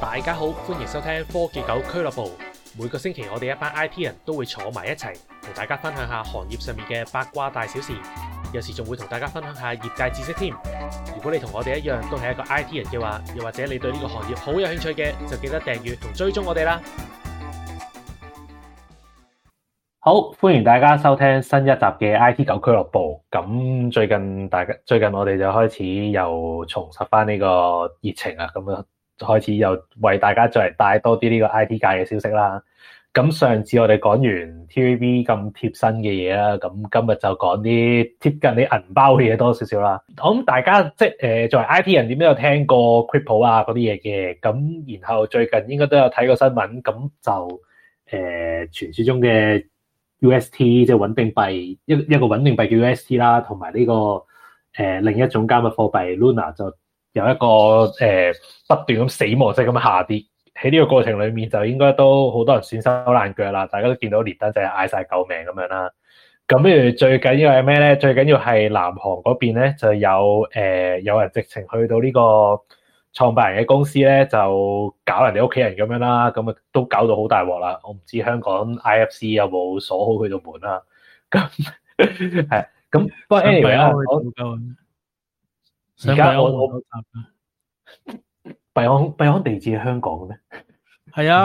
大家好，歡迎收聽科技狗俱樂部。每個星期我哋一班 IT 人都會坐埋一齊，同大家分享下行業上面嘅八卦大小事，有時仲會同大家分享下業界知識添。如果你同我哋一樣都係一個 IT 人嘅話，又或者你對呢個行業好有興趣嘅，就記得訂閱同追蹤我哋啦。 好，歡迎大家收聽新一集嘅 IT 狗俱樂部。咁最近我哋就開始又重拾翻呢個熱情啊，咁啊開始又為大家再嚟帶多啲呢個 IT 界嘅消息啦。咁上次我哋講完 TVB 咁貼身嘅嘢啦，咁今日就講啲貼近你銀包嘅嘢多少少啦。我諗大家即係作為 IT 人點都有聽過 crypto 啊嗰啲嘢嘅，咁然後最近應該都有睇過新聞，咁就傳說中嘅UST 即係穩定幣，一個穩定幣叫 UST 啦，同埋呢個另一種加密貨幣 Luna 就有一個不斷咁死亡式咁下跌。喺呢個過程裡面就應該都好多人損手爛腳啦，大家都見到連登就係嗌晒救命咁樣啦。咁譬如最緊要係咩咧？最緊要係南韓嗰邊咧就有人直情去到呢個創辦人嘅公司咧，就搞人哋屋企人咁樣啦，咁啊都搞到好大鑊啦。我唔知香港 IFC 有冇鎖好佢度門啦。咁係咁，不過 anyway 啦，而家我幣安地址喺香港嘅咩？ 係啊。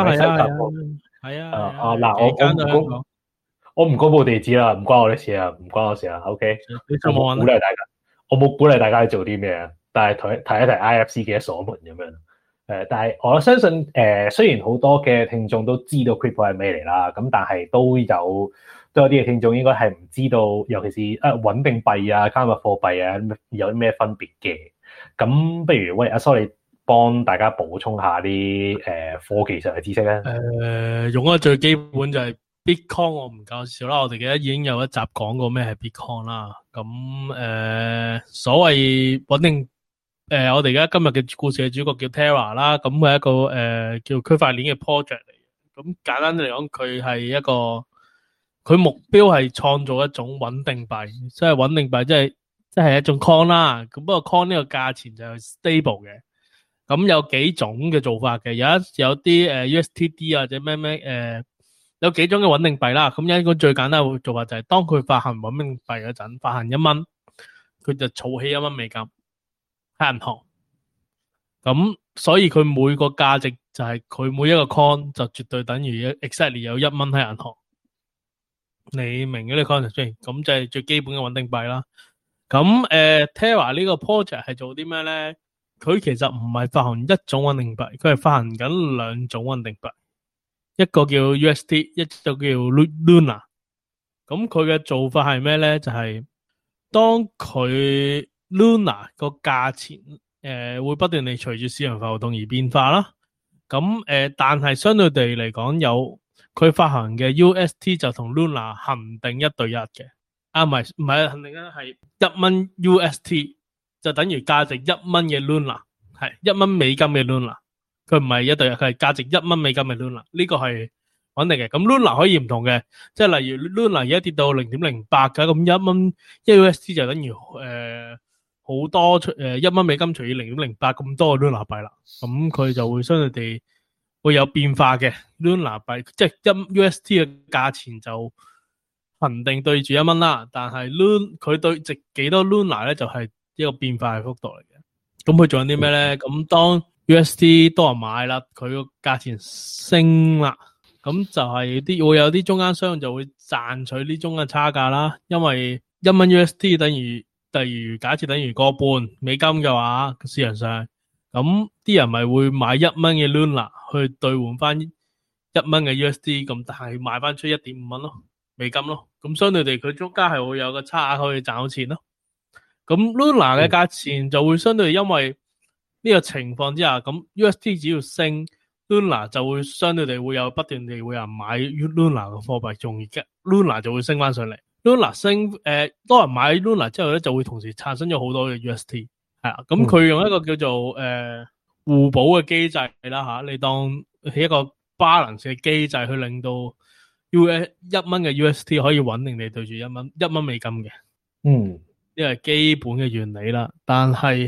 嗱，我唔公佈地址啦，唔關我哋事啊，唔關我事啊。OK， 我冇鼓勵大家，我冇鼓勵大家去做啲咩啊。但係提一提 IFC 嘅鎖門咁樣。但係我相信雖然好多嘅聽眾都知道 crypto 係咩嚟啦，咁但係都有啲嘅聽眾應該係唔知道，尤其是穩定幣啊、加密貨幣啊有啲咩分別嘅。咁不如喂阿 Sorry，幫大家補充下啲科技上嘅知識咧。 用咗最基本就係 Bitcoin， 我唔介紹啦。我哋記得已經有一集講過咩係 Bitcoin 啦。咁所謂穩定我哋而家今日嘅故事嘅主角叫 Terra 啦。咁佢係一個叫區塊鏈嘅 project 嚟嘅。咁簡單嚟講，佢係一個佢目標係創造一種穩定幣，即係穩定幣即係一種 coin 啦。咁不過 coin 呢個價錢就係 stable 嘅。咁有幾種嘅做法嘅，有啲USTD 或者咩有幾種嘅穩定幣啦。咁一個最簡單嘅做法就係當佢發行穩定幣嗰陣，發行1蚊，佢就儲起1蚊美金喺銀行。咁所以佢每個價值就係佢每一個 coin 就絕對等於 exactly 有1蚊喺銀行。你明嘅呢個 concept 先？咁就係最基本嘅穩定幣啦。咁Terra 呢個 project 係做啲咩咧？佢其實唔係發行一種穩定幣，佢係發行緊兩種穩定幣，一個叫 UST， 一個叫 Luna。咁佢嘅做法係咩咧？就係當佢 Luna 個價錢會不斷地隨住市場浮動而變化啦。咁但係相對地嚟講，有佢發行嘅 UST 就同 Luna 恒定1對1嘅。唔係恒定1係1蚊 UST。就等於價值1蚊嘅 Luna， 係1蚊美金嘅 Luna， 佢唔係1對1，佢係價值1蚊美金嘅 Luna， 呢個係穩定嘅。咁 Luna 可以唔同嘅，即係例如 Luna 而家跌到 0.08 㗎，咁1蚊1UST 就等於好多1蚊美金除以 0.08 咁多嘅 Luna 幣啦。咁佢就會相對地會有變化嘅 Luna 幣，即係1UST 嘅價錢就恒定對住1蚊啦，但係佢對值幾多 Luna 咧就係一個變化嘅幅度嚟嘅。咁佢仲有啲咩咧？咁當 UST 多人買啦，佢個價錢升啦，咁就係會有啲中間商就會賺取呢中間差價啦。因為1蚊 UST 等於假設等於個半美金嘅話，市場上咁啲人咪會買1蚊嘅 Luna 去兌換翻1蚊嘅 UST， 咁但係賣翻出 1.5 蚊咯美金咯。咁相對地佢中間係會有個差額可以賺到錢咯。咁 Luna 嘅價錢就會相對因為呢個情況之下，咁 UST 只要升 ，Luna 就會相對地會有不斷地會有人買 Luna 嘅貨幣，從而 Luna 就會升翻上嚟。Luna 升，多人買 Luna 之後咧，就會同時產生咗好多嘅 UST， 係啊。咁佢用一個叫做互補嘅機制啦吓，你當係一個 balance 嘅機制去令到1蚊嘅 UST 可以穩定地對住1蚊美金嘅。呢個係基本嘅原理啦，但係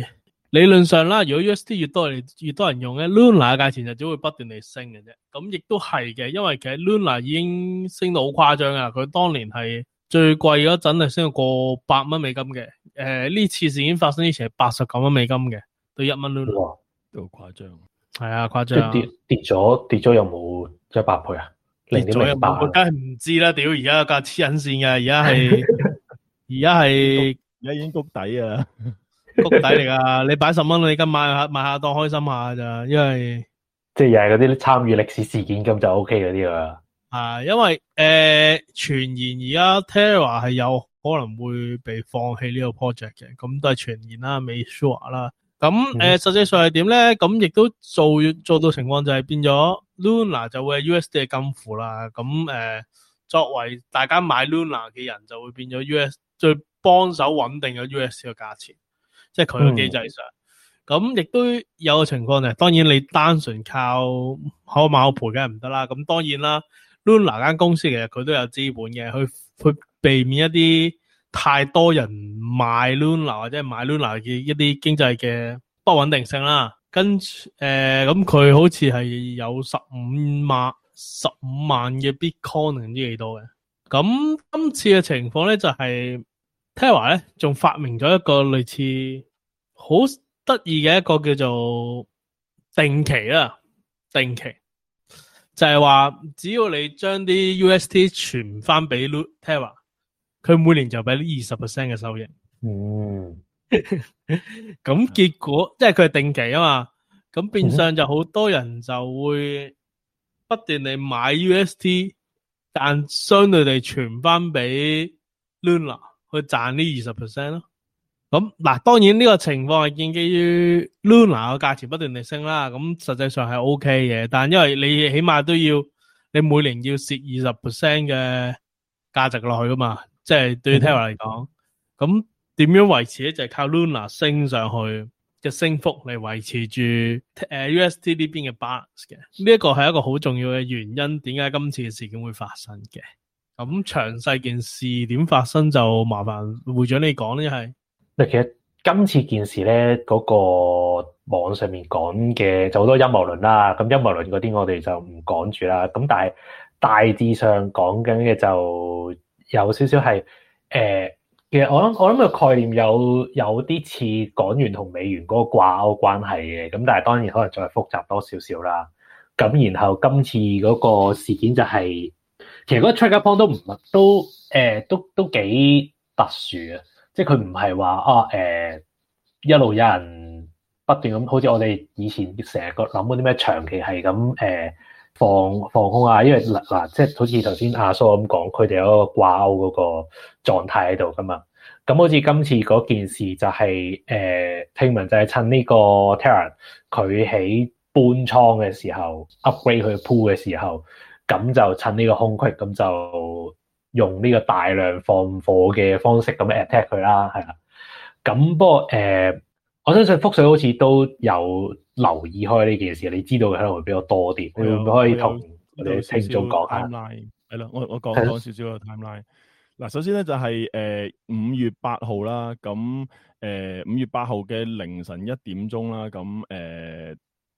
理論上啦，如果 UST 越多人用咧，Luna 嘅價錢就只會不斷地升嘅啫。咁亦都係嘅，因為其實 Luna 已經升到好誇張啊！佢當年係最貴嗰陣係升到過$100美金嘅。呢次事件發生之前係89蚊美金嘅，對1蚊 Luna。 哇， 都好誇張。係啊，誇即張。 係跌咗有冇100倍啊？ 跌咗有冇？我梗係唔知啦！屌，而家個價黐緊線嘅，而家已經谷底啊！ 谷底嚟噶，你擺10蚊你而家買下當開心下咋，因為即係又係嗰啲參與歷史事件咁就 OK 嗰啲啦。 因為傳言而家 Terra 係有可能會被放棄呢個 project 嘅，咁都係傳言啦，未 sure 啦。咁實際上係點咧？咁亦都做到情況就係變咗 Luna 就會係 USD 嘅金庫啦。咁作為大家買 Luna 嘅人就會變咗 US 最幫手穩定咗 USD 嘅價錢。即係佢嘅機制上，咁亦都有個情況就係，當然你單純靠可買可賠梗係唔得啦。咁當然啦 ，Luna 間公司其實佢都有資本嘅，去避免一啲太多人買 Luna 或者係買 Luna 嘅一啲經濟嘅不穩定性啦。跟住咁佢好似係有15萬嘅 Bitcoin 唔知幾多嘅。咁今次嘅情況咧就係Terra 咧仲發明咗一個類似好得意嘅一個叫做定期啦，定期就係話只要你將啲 UST 傳翻俾 Terra， 佢每年就俾20% 嘅收益。咁結果即係佢係定期啊嘛，咁變相就好多人就會不斷地買 UST， 但相對地傳翻俾 Luna。去賺呢20% 咯，咁嗱，當然呢個情況係建基於 Luna 嘅價錢不斷地升啦，咁實際上係 OK 嘅，但因為你起碼都要你每年要蝕20% 嘅價值落去噶嘛，即係對於 Terra 嚟講，咁點樣維持咧就係靠 Luna 升上去嘅升幅嚟維持住UST 呢邊嘅 balance 嘅，呢一個係一個好重要嘅原因，點解今次嘅事件會發生嘅。咁詳細件事點發生就麻煩會長你講咧，係。 其實今次件事咧，嗰個網上面講嘅就好多陰謀論啦。咁陰謀論嗰啲我哋就唔講住啦。咁但係大致上講緊嘅就有少少係其實我諗個概念有啲似港元同美元嗰個掛鈎關係嘅。咁但係當然可能再複雜多少少啦。咁然後今次嗰個事件就係。其實嗰個 trigger point 都幾特殊嘅，即係佢唔係話一路有人不斷咁，好似我哋以前成日諗嗰啲咩長期係咁放空啊，因為嗱即係好似頭先阿蘇咁講，佢哋有一個掛鈎嗰個狀態喺度噶嘛。咁好似今次嗰件事就係聽聞就係趁呢個 Terra 佢喺搬倉嘅時候 upgrade 佢嘅 pool 嘅時候。咁就趁呢個空隙，咁就用呢個大量放貨嘅方式咁 attack 佢啦，係啦。咁不過我相信福水好似都有留意開呢件事，你知道嘅可能會比較多啲。你會唔會可以同我哋聽眾講下？ 係啦，我講少少個 timeline。嗱，首先咧就係5月8號啦，咁5月8號嘅凌晨1點鐘啦，咁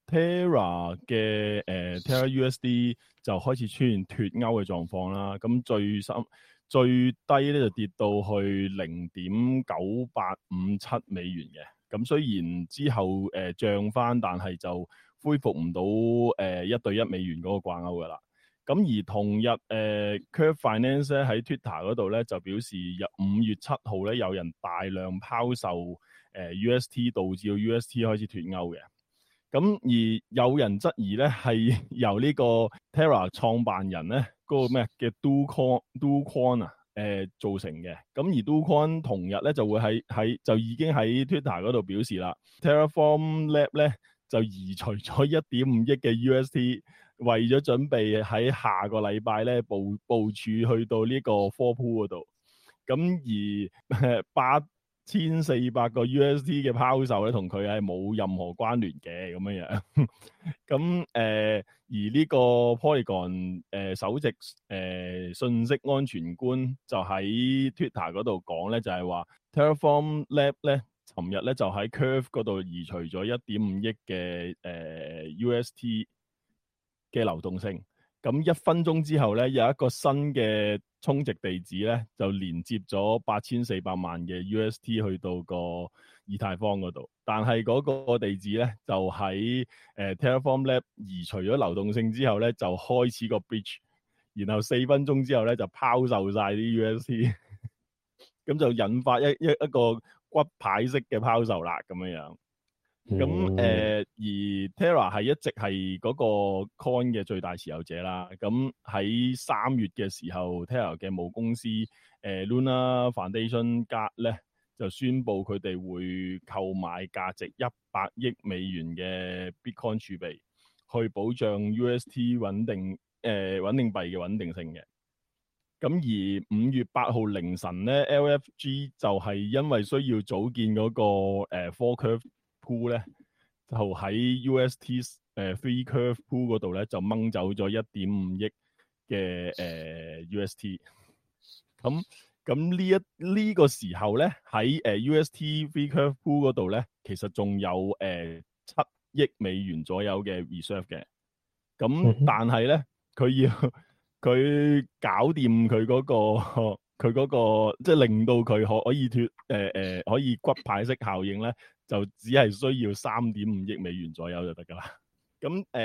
Terra 嘅Terra USD 就開始出現脫鈎嘅狀況啦，咁最低咧就跌到去0.9857美元嘅，咁雖然之後漲翻，但係就恢復唔到1對1美元嗰個掛鈎噶啦。咁而同日Curve Finance 咧喺 Twitter 嗰度咧就表示5月7號咧有人大量拋售UST， 導致到 UST 開始脫鈎嘅。咁而有人質疑咧，係由呢個 Terra 創辦人咧嗰個咩嘅 Do Kwon 造成嘅。咁而 Do Kwon 同日咧就會就已經喺 Twitter 嗰度表示啦 ，Terraform Lab 咧就移除咗1.5億嘅 UST， 為咗準備喺下個禮拜咧部署去到呢個 4 pool 嗰度。咁而8400個 UST 嘅拋售咧，同佢係冇任何關聯嘅咁樣樣。咁而呢個 Polygon 首席信息安全官就喺 Twitter 嗰度講咧，就係話 Terraform Lab 咧尋日咧就喺 Curve 嗰度移除咗1.5億嘅UST 嘅流動性。咁1分鐘之後咧，有一個新嘅充值地址咧，就連接咗8400萬嘅 UST 去到個以太坊嗰度。但係嗰個地址咧，就喺Terraform Lab 移除咗流動性之後咧，就開始個 bridge， 然後4分鐘之後咧就拋售晒啲 UST， 咁就引發一個骨牌式嘅拋售啦，咁樣樣。咁而 Terra 係一直係嗰個 coin 嘅最大持有者啦。咁喺3月嘅時候 ，Terra 嘅母公司Luna Foundation 咧就宣布佢哋會購買價值100億美元嘅 Bitcoin 儲備，去保障 UST 穩定幣嘅穩定性嘅。咁而5月8號凌晨咧 ，LFG 就係因為需要組建嗰個Four Curve Pool 咧，就喺 UST Three Curve Pool 嗰度咧就掹走咗1.5億嘅UST。咁呢個時候咧喺UST Three Curve Pool 嗰度咧，其實仲有7億美元左右嘅 reserve 嘅。咁但係咧佢搞掂佢嗰個即係令到佢可以可以骨牌式效應咧，就只係需要3.5億美元左右就得噶啦。咁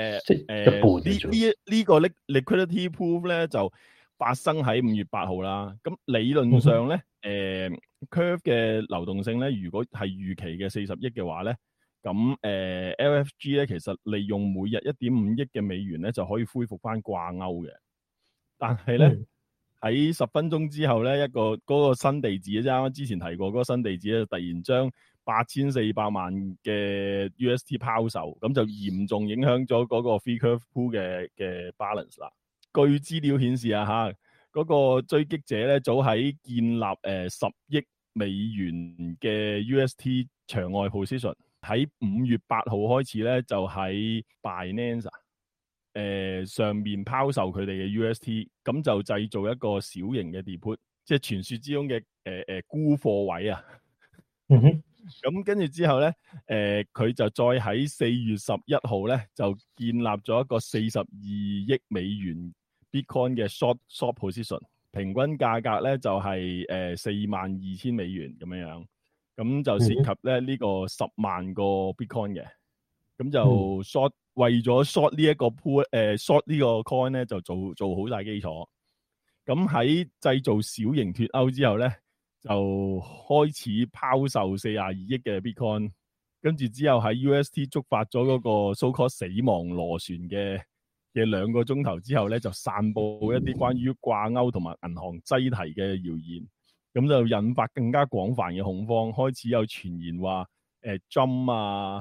呢個 liquidity proof 咧就發生喺5月8號啦。咁理論上咧Curve 嘅流動性咧，如果係預期嘅40億嘅話咧，咁LFG 咧其實利用每日1.5億嘅美元咧就可以恢復翻掛鈎嘅。但係咧喺10分鐘之後咧，嗰個新地址，啱啱之前提過嗰個新地址咧，突然將8400萬嘅 UST 拋售，咁就嚴重影響咗嗰個 Free Curve Pool 嘅 balance 啦。據資料顯示啊，嗰個追擊者咧早喺建立10億美元嘅 UST 場外 position， 喺5月8號開始咧就喺 Binance上面拋售佢哋嘅 UST， 咁就製造一個小型嘅 depot， 即係傳說之中嘅沽貨位啊。咁跟住之後咧，佢就再喺4月11號咧就建立咗一個42億美元 Bitcoin 嘅 short position， 平均價格咧就係42,000美元咁樣樣，咁就涉及咧呢個10萬個 Bitcoin 嘅，咁就 short。為咗 short 呢一個 short 呢個 coin 咧，就做好晒基礎。咁喺製造小型脫歐之後咧，就開始拋售42億嘅 Bitcoin， 跟住之後喺 UST 觸發咗嗰個 so-called 死亡螺旋嘅2個鐘頭之後咧，就散布一啲關於掛鈎同埋銀行擠提嘅謠言，咁就引發更加廣泛嘅恐慌，開始有傳言話Jump 啊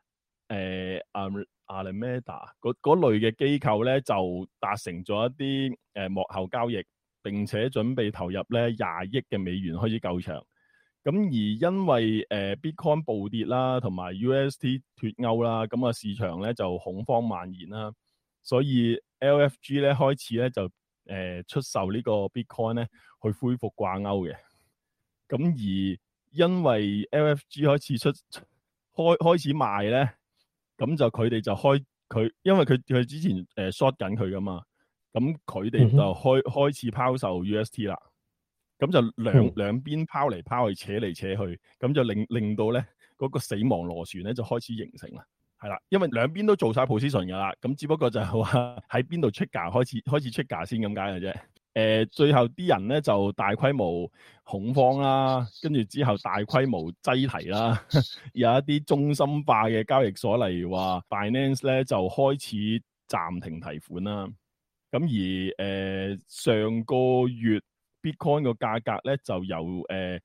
Alameda 嗰類嘅機構咧就達成咗一啲幕後交易，並且準備投入咧20億嘅美元開始救場。咁而因為Bitcoin 暴跌啦，同埋 UST 脫歐啦，咁啊市場咧就恐慌蔓延啦，所以 LFG 咧開始咧就出售呢個 Bitcoin 咧去恢復掛鈎嘅。咁而因為 LFG 開始賣咧。咁就佢哋就因為佢之前short 緊佢噶嘛，咁佢哋就開始拋售 UST 啦。咁就兩邊拋嚟拋去，扯嚟扯去，咁就令到咧嗰個死亡螺旋咧就開始形成啦。係啦，因為兩邊都做晒 position 噶啦，咁只不過就係話喺邊度出價開始出價先咁解嘅啫。最後啲人咧就大規模恐慌啦，跟住之後大規模擠提啦，有一啲中心化嘅交易所，例如話 Binance 咧就開始暫停提款啦。咁而上個月 Bitcoin 個價格咧就由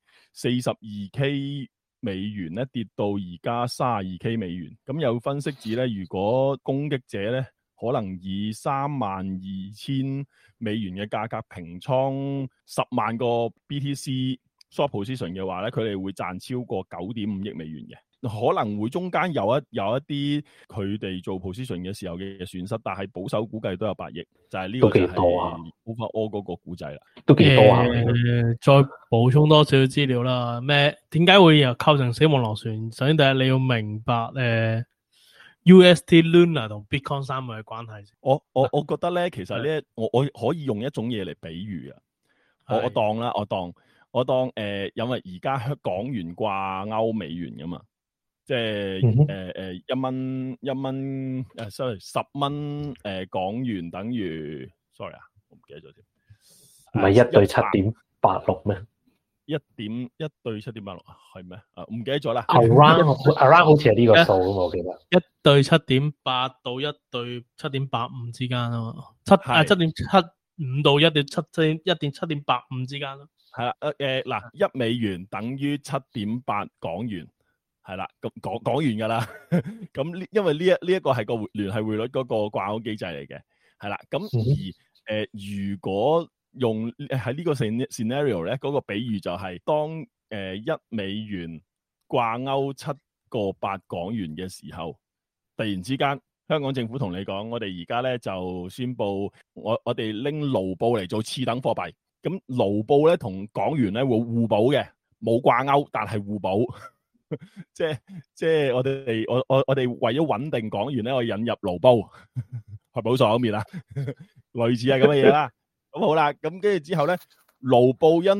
42K 美元咧跌到而家32K 美元。咁有分析指咧，如果攻擊者咧可能以32,000美元嘅價格平倉10萬個 BTC short position 嘅話咧，佢哋會賺超過9.5億美元嘅。 可能會中間有一啲佢哋做 position 嘅時候嘅損失，但係保守估計都有8億，就係呢個就係 overall 嗰個估計啦， 都幾多啊！ 再補充多少少資料啦，點解會又構成死亡螺旋？首先第一你要明白UST Luna 同 Bitcoin 3個嘅關係。 我覺得咧，其實咧，我可以用一種嘢嚟比喻啊，我當啦，我當因為而家港元掛鈎美元噶嘛，即係1蚊sorry 10蚊港元等於 sorry 啊，我唔記得咗添， 唔係1對7.86咩 ？1對7.86係咩？唔記得咗啦。 around 好似係呢個數啊嘛，我記得。 1對7.8到1對7.85之間啊嘛，7.75到1.7.85之間咯。 係啦，嗱，1美元等於7.8港元，係啦，咁講完噶啦。咁因為呢一個係個聯繫匯率嗰個掛鈎機制嚟嘅，係啦。咁而如果用喺呢個 scenario 咧，嗰個比喻就係當1美元掛鈎7.8港元嘅時候，突然之間香港政府同你講，我哋而家咧就宣布我哋拎盧布嚟做次等貨幣。咁盧布咧同港元咧會互補嘅，冇掛鈎，但係互補。即係我哋為咗穩定港元咧，我引入盧布去補爽面啦，類似係咁嘅嘢啦。咁好啦，咁跟住之後咧，盧布因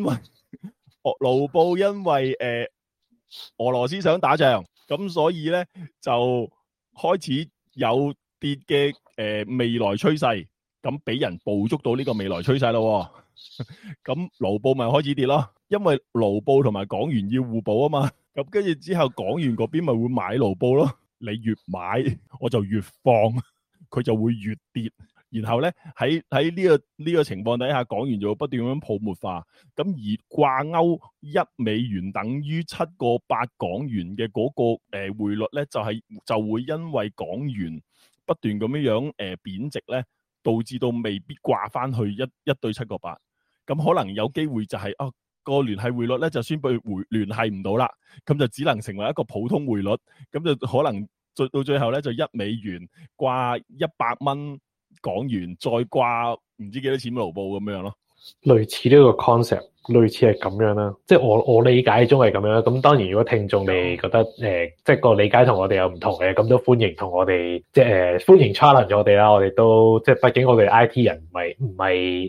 為俄羅斯想打仗，咁所以咧就開始有跌嘅未來趨勢，咁俾人捕捉到呢個未來趨勢咯。咁盧布咪開始跌咯，因為盧布同埋港元要互補啊嘛。咁跟住之後，港元嗰邊咪會買盧布咯。你越買，我就越放，佢就會越跌。然後咧喺呢個情況底下，港元就會不斷咁樣泡沫化。咁而掛鈎1美元等於7.8港元嘅嗰個匯率咧，就會因為港元不斷咁樣貶值咧，導致到未必掛翻去一對7.8。咁可能有機會就係個聯繫匯率咧就宣布聯繫唔到啦，咁就只能成為一個普通匯率，咁就可能到最後咧就1美元掛100蚊港元，再掛唔知幾多錢盧布咁樣咯。 類似呢個 concept，類似係咁樣啦。即係我理解中係咁樣。咁當然，如果聽眾你覺得即係個理解同我哋有唔同嘅，咁都歡迎同我哋即係歡迎 challenge 我哋啦。我哋都即係畢竟我哋 IT 人唔係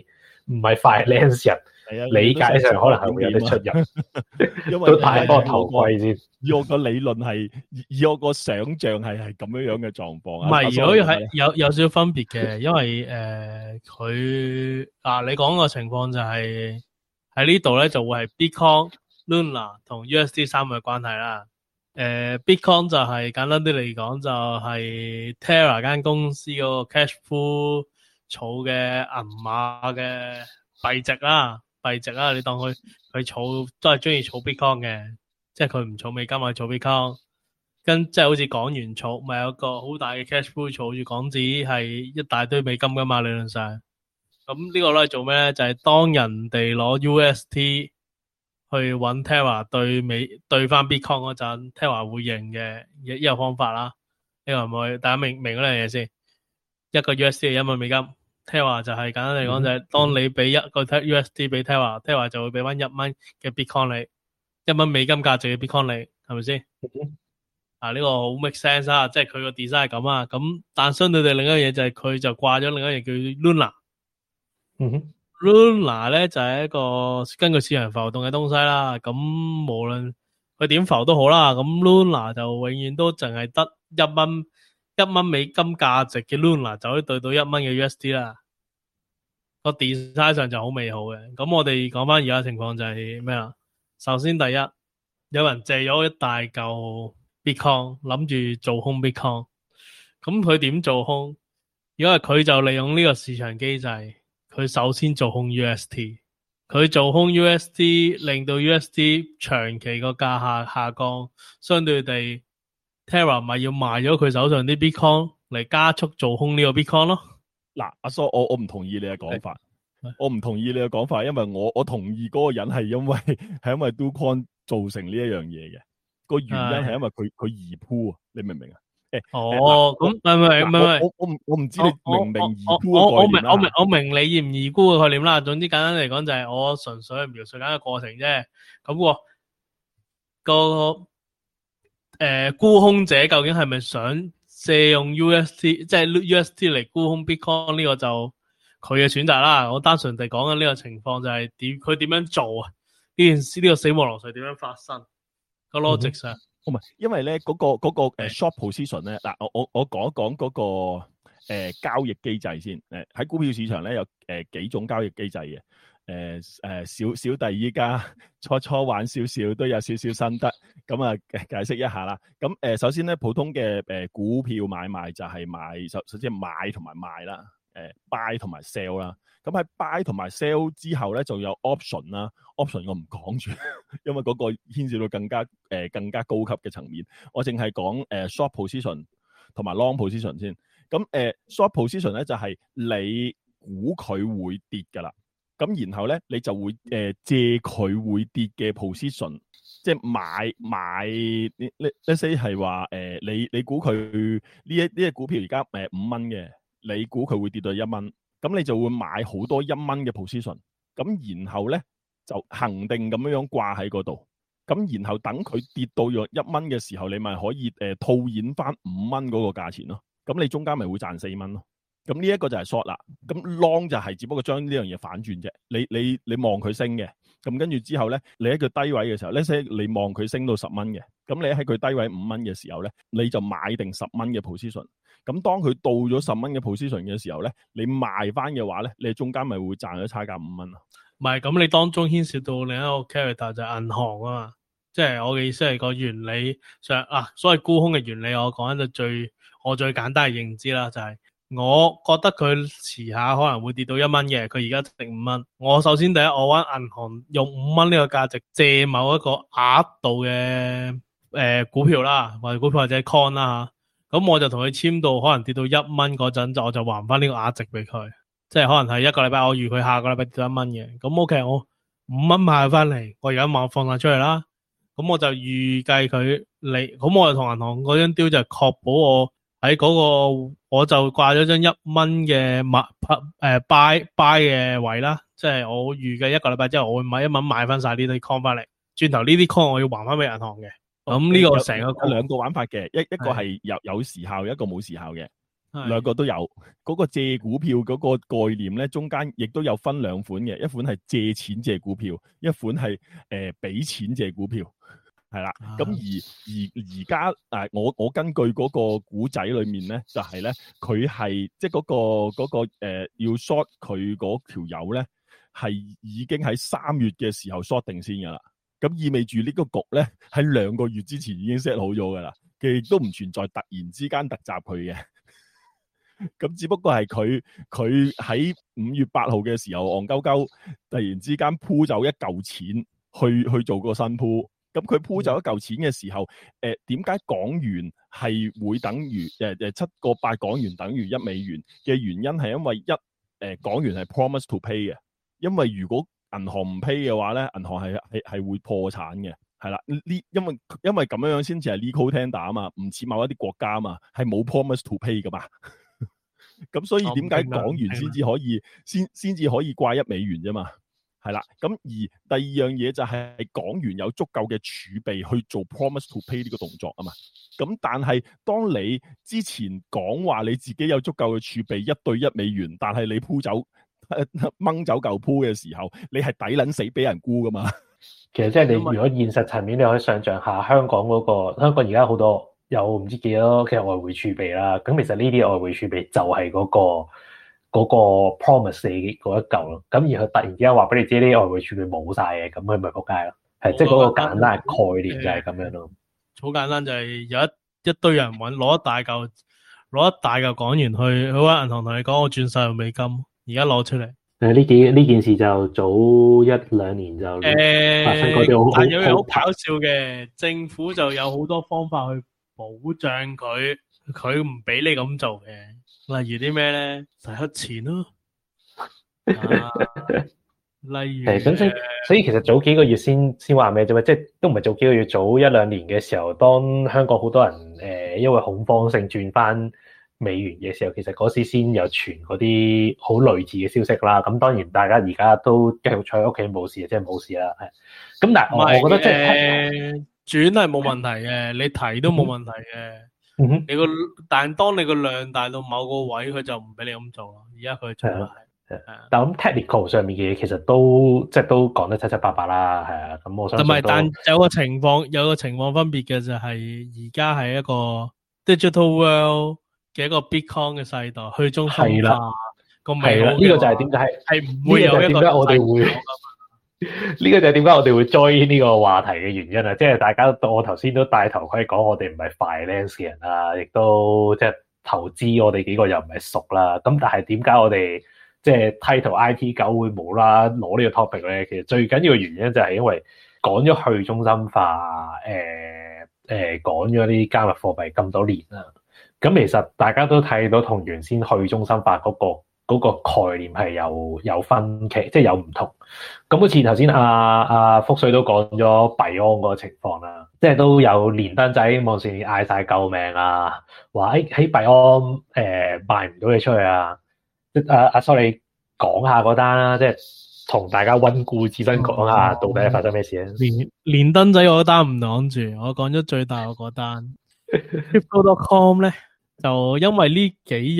finance 人。理解上可能係會有啲出入，因為都戴個頭盔先。 以我個理論係，以我個想像係咁樣嘅狀況。 唔係，如果係有少少分別嘅，因為佢你講個情況就係喺呢度咧，就會係 Bitcoin、Luna 同 USD 3個嘅關係啦。Bitcoin 就係簡單啲嚟講，就係 Terra 間公司嗰個 cash pool 儲嘅銀碼嘅幣值啦。你當佢儲都係中意儲 Bitcoin 嘅，即係佢唔儲美金，係儲 Bitcoin，即係好似港元儲，咪有個好大嘅 cash pool 儲住港紙，係一大堆美金噶嘛，理論上。咁呢個攞嚟做咩咧？就係當人哋攞 UST 去揾 Terra 對翻 Bitcoin 嗰陣 ，Terra 會認嘅一個方法啦。呢個係咪大家明嗰樣嘢先？一個 UST 係1蚊美金。Terra 就係簡單嚟講就係當你俾一個 USD 俾 Terra 就會俾翻1蚊嘅 Bitcoin 你，1蚊美金價值嘅 Bitcoin 你，係咪先？呢個好 make sense 啊，即係佢個 design 係咁啊。咁但相對地另一樣嘢就係佢就掛咗另一樣叫 Luna。Luna 咧就係一個根據市場浮動嘅東西啦。咁無論佢點浮都好啦，咁 Luna 就永遠都淨係得1蚊美金價值嘅 Luna 就可以對到1蚊嘅 USD 啦，個 design 上就好美好嘅。咁我哋講翻而家情況就係咩啦？首先第一，有人借咗一大嚿 Bitcoin 諗住做空 Bitcoin， 咁佢點做空？因為佢就利用呢個市場機制，佢首先做空 UST， 佢做空 UST 令到 UST 長期個價下降，相對地Terra 咪要賣咗佢手上啲 Bitcoin 嚟加速做空呢個 Bitcoin 咯。 嗱，阿蘇，我唔同意你嘅講法，我唔同意你嘅講法，因為我同意嗰個人係因為 Do Kwon 造成呢一樣嘢嘅。 個原因係因為佢易鋪啊，你明唔明啊？ 咁唔係， 我唔知你明唔明易鋪嘅概念啦。 我明你易唔易沽嘅概念啦。總之簡單嚟講就係我純粹係描述緊個過程啫。咁個沽空者究竟係咪想借用 UST 即係 UST 嚟沽空 Bitcoin 呢個就佢嘅選擇啦。我單純地講緊呢個情況就係佢點樣做啊？呢件事呢個死亡流水點樣發生？個 logic 上。 唔係，因為咧嗰個short position 咧，嗱我講一講嗰個交易機制先。喺股票市場咧有幾種交易機制嘅。小弟依家初玩少少，都有少少心得，咁啊解釋一下啦。咁首先咧，普通嘅股票買賣就係首先買同埋賣啦，buy 同埋 sell 啦。咁喺 buy 同埋 sell 之後咧，就有 option 啦。option 我唔講住，因為嗰個牽涉到更加高級嘅層面。我淨係講short position 同埋 long position 先。咁short position 咧就係你估佢會跌㗎啦。咁然後咧，你就會借佢會跌嘅 position， 即係買let's say 係話你估佢呢隻股票而家5蚊嘅，你估佢會跌到1蚊，咁你就會買好多1蚊嘅 position， 咁然後咧就恆定咁樣掛喺嗰度，咁然後等佢跌到約1蚊嘅時候，你咪可以套現翻5蚊嗰個價錢咯，咁你中間咪會賺4蚊咯。咁呢一個就係 short 啦，咁 long 就係只不過將呢樣嘢反轉啫。你望佢升嘅，咁跟住之後咧，你喺佢低位嘅時候，呢些你望佢升到10蚊嘅，咁你喺佢低位5蚊嘅時候咧，你就買定10蚊嘅 position。咁當佢到咗10蚊嘅 position 嘅時候咧，你賣翻嘅話咧，你中間咪會賺咗差價5蚊咯。唔係， 咁你當中牽涉到另一個 character 就係銀行啊嘛，即係我嘅意思係個原理上所謂沽空嘅原理，我講緊就我最簡單嘅認知啦，就係。我覺得佢遲下可能會跌到1蚊嘅，佢而家值5蚊。我首先第一，我揾銀行用5蚊呢個價值借某一個額度嘅股票啦，或者股票或者 coin 啦吓，咁我就同佢簽到可能跌到1蚊嗰陣，我就還翻呢個額值俾佢，即係可能係一個禮拜，我預佢下個禮拜跌到1蚊嘅，咁 OK，我5蚊買翻嚟，我而家放晒出嚟啦，咁我就預計佢嚟，咁我就同銀行嗰張 deal 就確保我。喺嗰個我就掛咗張1蚊嘅buy 嘅位啦，即係我預計一個禮拜之後我會買1蚊買翻晒呢啲 coin 翻嚟，轉頭呢啲 coin 我要還翻俾銀行嘅。咁呢個成個有兩個玩法嘅，一個係有時效，一個冇時效嘅，兩個都有。嗰個借股票嗰個概念咧，中間亦都有分兩款嘅，一款係借錢借股票，一款係俾錢借股票。係啦，咁而家我根據嗰個古仔裏面咧，就係咧佢係即係嗰個要 short 佢嗰條友咧，係已經喺3月嘅時候 short 定先噶啦。咁意味住呢個局咧喺2個月之前已經 set 好咗噶啦，佢亦都唔存在突然之間突襲佢嘅。咁只不過係佢喺5月8號嘅時候戇鳩鳩突然之間鋪走一嚿錢去做個新鋪。咁佢鋪走一嚿錢嘅時候，點解港元係會等於7.8港元等於1美元嘅原因係因為港元係 promise to pay 嘅，因為如果銀行唔 pay 嘅話咧，銀行係會破產嘅，係啦，因為咁樣先至係 legal tender 啊嘛，唔似某一啲國家啊嘛，係冇 promise to pay 噶嘛，咁所以點解港元先至可以先至可以掛1美元啫嘛？係啦，咁而第二樣嘢就係港元有足夠嘅儲備去做 promise to pay 呢個動作啊嘛。咁但係當你之前講話你自己有足夠嘅儲備1對1美元，但係你鋪走掹走嚿鋪嘅時候，你係抵撚死俾人沽噶嘛。 其實即係你如果現實層面，你可以想象下香港而家好多有唔知幾多嘅外匯儲備啦。咁其實呢啲外匯儲備就係嗰個 promise 你嗰一嚿咯，咁而佢突然之間話俾你知呢啲外匯儲備冇晒嘅，咁佢咪仆街咯，係即係嗰個簡單嘅概念就係咁樣咯。 好簡單就係有一堆人攞一大嚿港元去揾銀行同你講我轉晒美金，而家攞出嚟。 呢件事就早1-2年就發生過啲但有樣好搞笑嘅，政府就有好多方法去保障佢唔俾你咁做嘅。例如啲咩咧？洗黑錢咯， 例如咁所以其實早幾個月先話咩啫嘛，即係都唔係早幾個月，早一兩年嘅時候，當香港好多人因為恐慌性轉翻美元嘅時候，其實嗰時先有傳嗰啲好類似嘅消息啦。咁當然大家而家都繼續坐喺屋企冇事，即係冇事啦。係咁，但係我覺得即係轉係冇問題嘅，你提都冇問題嘅。 嗯哼， 但係當你個量大到某個位，佢就唔俾你咁做咯。而家佢做係。 但係咁 technical 上面嘅嘢其實都講得七七八八啦，係啊，咁我相信都。 但有個情況分別嘅就係而家係一個 digital world 嘅一個 Bitcoin 嘅世代，去中心化個美好。 呢個就係點解係唔會有一個我哋會呢個就係點解我哋會 join 呢個話題嘅原因啊！即係大家我頭先都戴頭盔講，我哋唔係 finance 嘅人啦，亦都即係投資，我哋幾個又唔係熟啦。咁但係點解我哋即係 title IT 狗會冇啦攞呢個 topic 咧？其實最緊要嘅原因就係因為講咗去中心化，講咗啲加密貨幣咁多年啦。咁其實大家都睇到同原先去中心化嗰個概念係有分歧，即係有唔同。咁好似頭先阿福水都講咗幣安嗰個情況啦，即係都有連登仔網上嗌晒救命啊，話喺幣安賣唔到嘢出去啊！阿蘇你講下嗰單啦，即係同大家溫故知新講下到底發生咩事咧？ 連登仔我嗰單唔講住，我講咗最大嗰單。Crypto.com 咧就因為呢幾日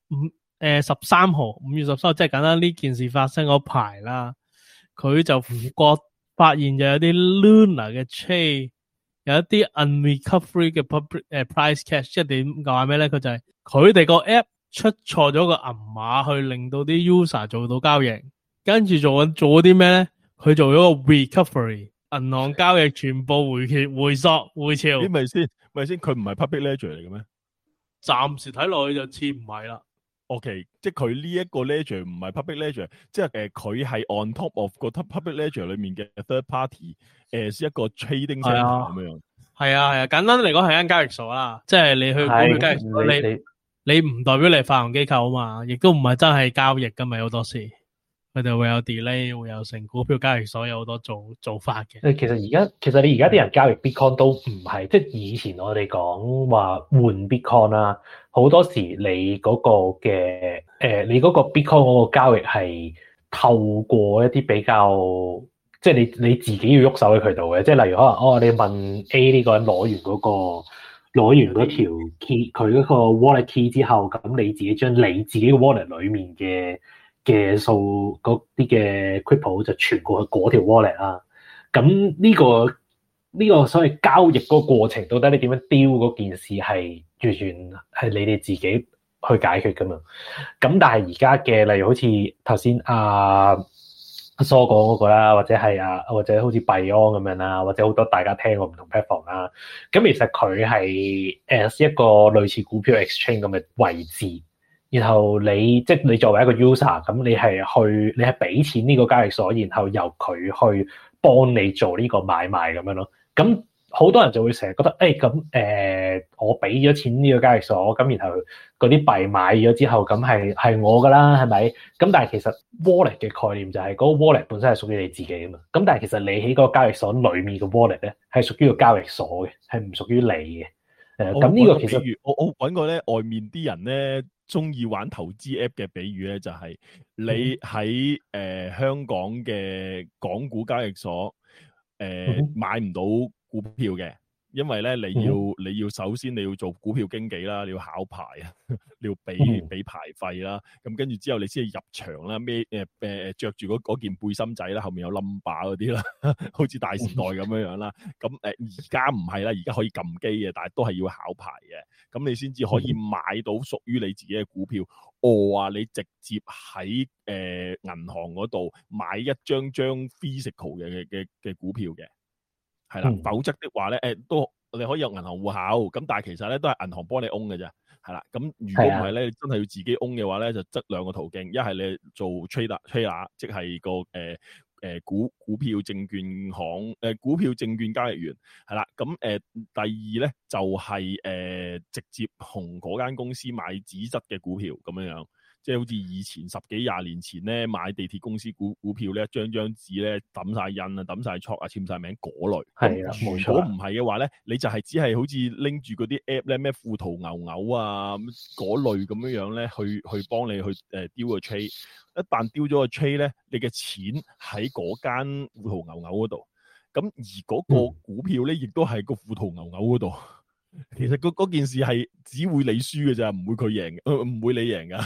13號5月13號，即係簡單呢件事發生嗰排啦，佢就發現就有啲 Luna 嘅 chain 有一啲 unrecovery 嘅 public price cash， 即係點講咩咧？佢就係佢哋個 app 出錯咗個銀碼，去令到啲 user 做到交易，跟住做咗啲咩咧？佢做咗個 recovery， 銀行交易全部回溯回潮。 咦，咪先，佢唔係 public ledger 嚟嘅咩？ 暫時睇落去就似唔係啦。 OK， 即係佢呢一個 ledger 唔係 public ledger， 即係佢係 on top of 個 public ledger 裏面嘅 third party，係一個 trading center 咁樣。 係啊，簡單嚟講係間交易所啦，即係你去股票交易所，你唔代表你係發行機構啊嘛，亦都唔係真係交易噶嘛，好多時佢哋會有 delay， 會有成股票交易所有好多做法嘅。 其實你而家啲人交易 Bitcoin 都唔係，即係以前我哋講話換 Bitcoin 啦，好多時你嗰個嘅你嗰個 Bitcoin 嗰個交易係透過一啲比較，即係你自己要喐手嘅渠道嘅，即係例如可能你問 A 呢個人攞完嗰條 key 佢嗰個 wallet key 之後，咁你自己將你自己嘅 wallet 裡面嘅數嗰啲嘅 crypto 就傳過去嗰條 wallet 啦。咁呢個所謂交易嗰個過程，到底你點樣丟嗰件事係完全係你哋自己去解決噶嘛？咁但係而家嘅例如好似頭先阿蘇講嗰個啦，或者好似幣安咁樣啦，或者好多大家聽過唔同 platform 啦。咁其實佢係一個類似股票 exchange 咁嘅位置。然後你作為一個 user，咁你係俾錢呢個交易所，然後由佢去幫你做呢個買賣咁樣咯。咁好多人就會成日覺得，我俾咗錢呢個交易所，咁然後嗰啲幣買咗之後，咁係我噶啦，係咪？咁但係其實 wallet 嘅概念就係嗰個 wallet 本身係屬於你自己噶嘛。咁但係其實你喺嗰個交易所裡面嘅 wallet 咧，係屬於個交易所嘅，係唔屬於你嘅。咁呢個其實我揾過咧，外面啲人咧中意玩投資 app 嘅比喻咧，就係你喺香港嘅港股交易所買唔到股票嘅，因為咧你要首先你要做股票經紀啦，你要考牌啊，你要俾牌費啦，咁跟住之後你先至入場啦，着住嗰件背心仔啦，後面有 number 嗰啲啦，好似大時代咁樣啦。咁而家唔係啦，而家可以撳機嘅，但係都係要考牌嘅，咁你先至可以買到屬於你自己嘅股票。你直接喺銀行嗰度買一張 physical 嘅股票嘅。係啦，否則的話咧，都你可以有銀行戶口，咁但係其實咧都係銀行幫你 own 嘅啫，係啦。咁如果唔係咧，你真係要自己 own 嘅話咧，就得兩個途徑，一係你做 trader， 即係個股票證券行股票證券交易員，係啦。咁第二咧就係直接同嗰間公司買紙質嘅股票咁樣樣。 即係好似以前10幾20年前咧買地鐵公司股票咧，張紙咧抌晒印啊、抌晒戳啊、簽晒名嗰類。 係啦，冇錯。 如果唔係嘅話咧，你就係只係好似拎住嗰啲 app 咧，咩富途牛牛啊嗰類咁樣咧，去幫你去丟個 trade。一旦丟咗個 trade 咧，你嘅錢喺嗰間富途牛牛嗰度。咁而嗰個股票咧，亦都係個富途牛牛嗰度。其實嗰件事係只會你輸嘅咋，唔會佢贏，唔會你贏噶。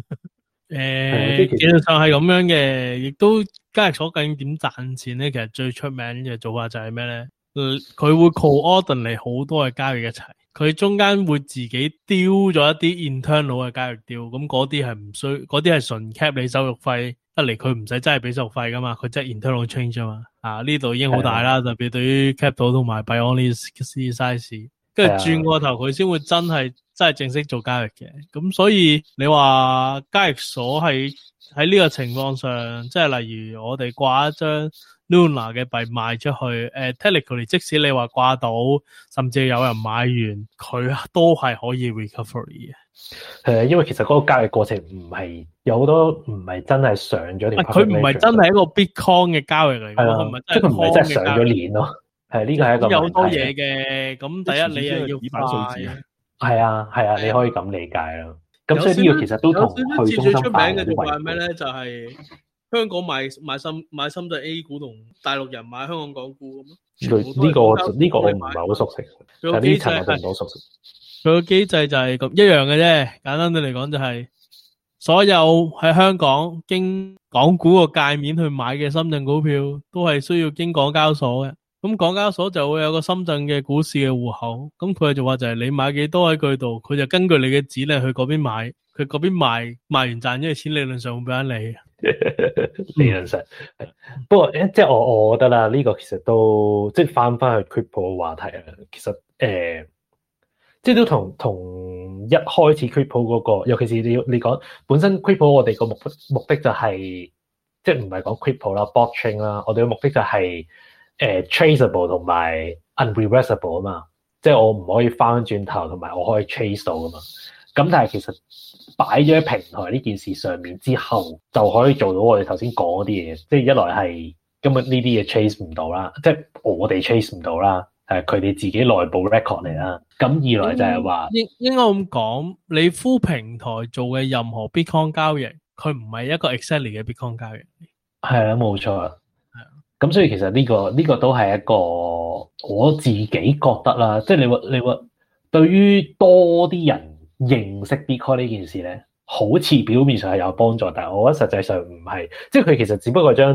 技術上係咁樣嘅，亦都交易所究竟點賺錢咧？其實最出名嘅做法就係咩咧？佢會 coordinate 好多嘅交易一齊，佢中間會自己丟咗一啲 internal 嘅交易丟，咁嗰啲係唔需，嗰啲係純 cap 你手續費，得嚟佢唔使真係俾手續費噶嘛，佢即係 internal change 啊嘛。啊呢度已經好大啦，特別對於 cap 到同埋 Bionis size。跟住轉過頭，佢先會真係正式做交易嘅。咁所以你話交易所喺呢個情況上，即係例如我哋掛一張 Luna 嘅幣賣出去，technically 即使你話掛到，甚至有人買完，佢都係可以 recovery 嘅。 因為其實嗰個交易過程唔係有好多唔係真係上咗條， 佢唔係真係一個 Bitcoin 嘅交易嚟嘅， 即係佢唔係真係上咗鏈咯。係呢個係一個有好多嘢嘅，咁第一你又要快， 係啊，你可以咁理解咯。咁所以呢個其實都同去中心化最出名嘅做法係咩咧？就係香港買深圳 A 股同大陸人買香港港股咁咯。 呢個我唔係好熟悉，但係呢層我就唔好熟悉。 佢個機制就係咁一樣嘅啫，簡單啲嚟講就係所有喺香港經港股個界面去買嘅深圳股票，都係需要經港交所嘅。咁港交所就會有個深圳嘅股市嘅戶口，咁佢就話就係你買幾多喺佢度，佢就根據你嘅指令去嗰邊買，佢嗰邊賣完賺咗嘅錢，理論上會俾翻你。 理論上，不過即係我覺得啦，呢個其實都即係翻去 crypto 嘅話題啊。其實即係都同一開始 crypto 嗰個，尤其是你講本身 crypto 我哋個目的就係即係唔係講 crypto 啦 blockchain 啦，我哋嘅目的就係traceable 同埋 unreversible 啊嘛，即係我唔可以翻轉頭，同埋我可以 trace 到噶嘛。咁但係其實擺咗喺平台呢件事上面之後，就可以做到我哋頭先講嗰啲嘢。即係一來係根本呢啲嘢 trace 唔到啦，即係我哋 trace 唔到啦，係佢哋自己內部 record 嚟啦。咁二來就係話應該咁講，你full平台做嘅任何 Bitcoin 交易，佢唔係一個 exactly 嘅 Bitcoin 交易。係啊，冇錯。咁所以其實呢個都係一個我自己覺得啦，即係你話對於多啲人認識 Bitcoin 呢件事咧，好似表面上係有幫助，但係我覺得實際上唔係，即係佢其實只不過將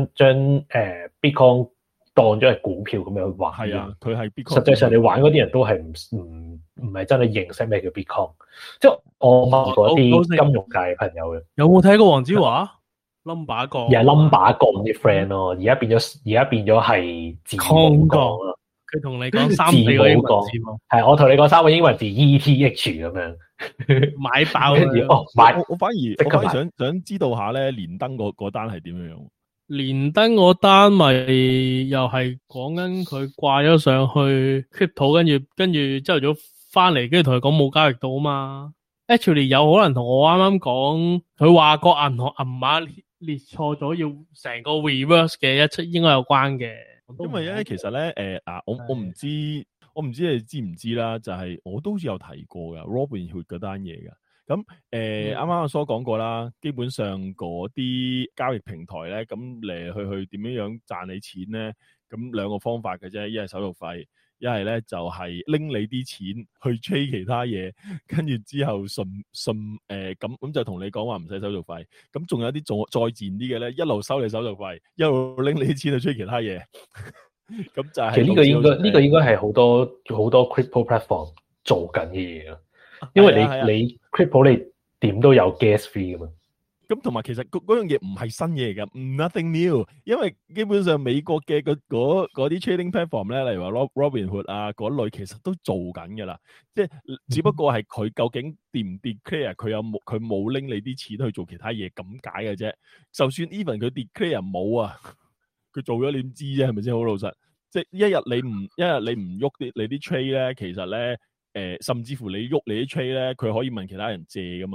Bitcoin 當咗係股票咁樣玩。 係啊，佢係 Bitcoin。 實際上你玩嗰啲人都係唔係真係認識咩叫 Bitcoin。即係我問過啲金融界嘅朋友嘅。 有冇睇過黃子華？number 降， 又係 number 降啲 friend 咯，而家變咗係字母降咯。 佢同你講3-4個英文字母， 係我同你講3個英文字 ETH 咁樣買爆啦。 我反而想知道下咧，連登嗰單係點樣？ 連登嗰單咪又係講緊佢掛咗上去 crypto， 跟住朝頭早翻嚟，跟住同佢講冇交易到啊嘛。Actually 有可能同我啱啱講，佢話個銀行銀碼列錯咗，要成個 reverse 嘅應該有關嘅。 因為咧，其實咧，我唔知你知唔知啦，就係我都好似有提過噶 Robinhood 嗰單嘢噶。咁啱啱阿蘇講過啦，基本上嗰啲交易平台咧，咁嚟去點樣賺你錢咧？咁兩個方法嘅啫，一係手續費，一係咧就係拎你啲錢去 trade 其他嘢，跟住之後順咁就同你講話唔使手續費。咁仲有啲再賤啲嘅咧，一路收你手續費，一路拎你啲錢去 trade 其他嘢。咁就係其實呢個應該係好多 crypto platform 做緊嘅嘢咯，因為你 crypto 你點都有 gas fee 噶嘛。 咁同埋其實嗰樣嘢唔係新嘢嚟㗎，nothing new。因為基本上美國嘅嗰啲 trading platform 咧，例如話 Robinhood 啊嗰類，其實都做緊㗎啦。即係只不過係佢究竟唔 declare 佢冇拎你啲錢去做其他嘢咁解嘅啫。就算 even 佢 declare 冇啊，佢做咗你點知啫？係咪先？好老實，即係一日你唔喐你啲 trade 咧，其實咧甚至乎你喐你啲 trade 咧，佢可以問其他人借㗎嘛。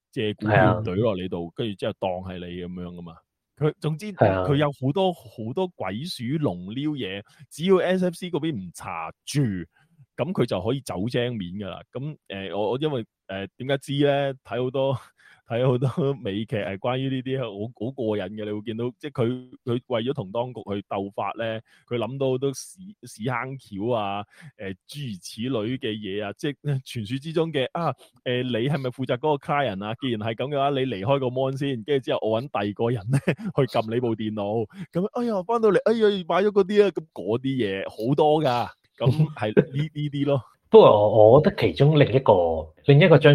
借股票懟落你度，跟住之後當係你咁樣噶嘛。佢總之佢有好多鬼鼠龍撩嘢，只要 SFC 嗰邊唔查住，咁佢就可以走精面噶啦。咁我因為點解知咧？睇好多美劇係關於呢啲好過癮嘅，你會見到即係佢為咗同當局去鬥法咧，佢諗到好多屎坑橋啊，諸如此類嘅嘢啊，即係傳説之中嘅你係咪負責嗰個 client 啊？既然係咁嘅話，你離開個 mon 先，跟住之後我揾第二個人咧去撳你部電腦，咁哎呀翻到嚟，哎呀買咗嗰啲啊，咁嗰啲嘢好多㗎，咁係呢啲咯。 不過我覺得其中另一個將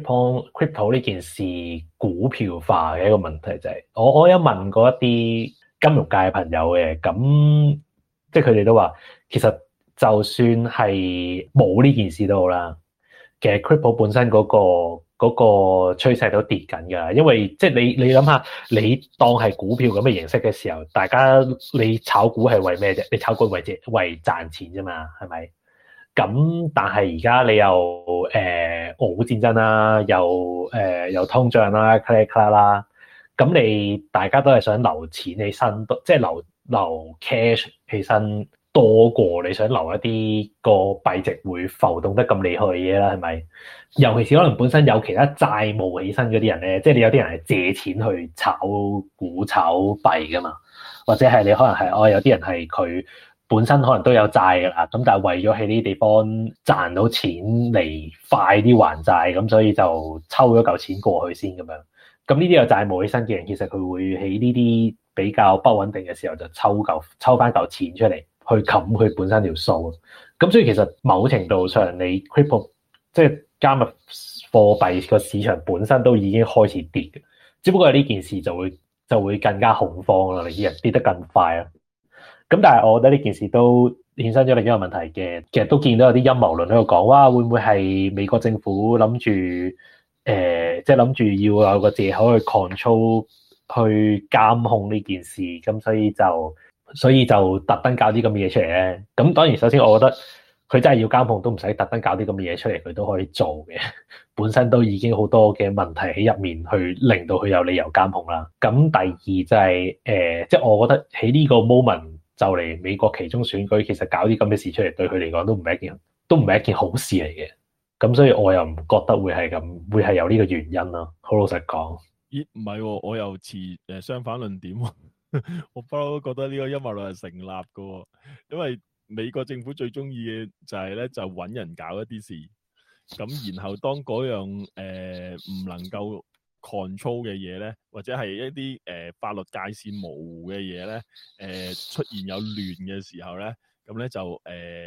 crypto 呢件事股票化嘅一個問題就係，我有問過一啲金融界嘅朋友嘅，咁即係佢哋都話，其實就算係冇呢件事都好啦，其實 crypto 本身嗰個趨勢都跌緊㗎，因為即係你諗下，你當係股票咁嘅形式嘅時候，大家你炒股係為咩啫？你炒股為賺錢啫嘛，係咪？咁但係而家你又俄烏戰爭啦，又通脹啦 ，cla 啦，咁你大家都係想留錢起身，即係留 cash 起身多過你想留一啲個幣值會浮動得咁厲害嘅嘢啦，係咪？尤其是可能本身有其他債務起身嗰啲人咧，即係你有啲人係借錢去炒股炒幣噶嘛，或者係你可能係有啲人係佢本身可能都有債㗎啦，咁但係為咗喺呢啲地方賺到錢嚟快啲還債，咁所以就抽咗嚿錢過去先咁樣。咁呢啲有債務起身嘅人，其實佢會喺呢啲比較不穩定嘅時候就抽翻嚿錢出嚟去冚佢本身條數。咁所以其實某程度上，你 crypto 即係加密貨幣個市場本身都已經開始跌嘅，只不過係呢件事就會更加恐慌啦，你啲人跌得更快啦。咁但係我覺得呢件事都衍生咗另一個問題嘅，其實都見到有啲陰謀論喺度講，哇會唔會係美國政府諗住即係諗住要有個藉口去 control 去監控呢件事，咁所以就特登搞啲咁嘅嘢出嚟咧。咁當然首先我覺得佢真係要監控都唔使特登搞啲咁嘅嘢出嚟，佢都可以做嘅。本身都已經好多嘅問題喺入面，去令到佢有理由監控啦。咁第二就係即係我覺得喺呢個 moment。就嚟美國期中選舉，其實搞啲咁嘅事出嚟，對佢嚟講都唔係一件好事嚟嘅。咁所以我又唔覺得會係有呢個原因咯。好老實講， 咦唔係喎，我又持相反論點喎。我不嬲都覺得呢個陰謀論係成立嘅喎，因為美國政府最中意嘅就係咧就揾人搞一啲事，咁然後當嗰樣唔能夠control 嘅嘢咧，或者係一啲法律界線模糊嘅嘢咧，出現有亂嘅時候咧，咁咧就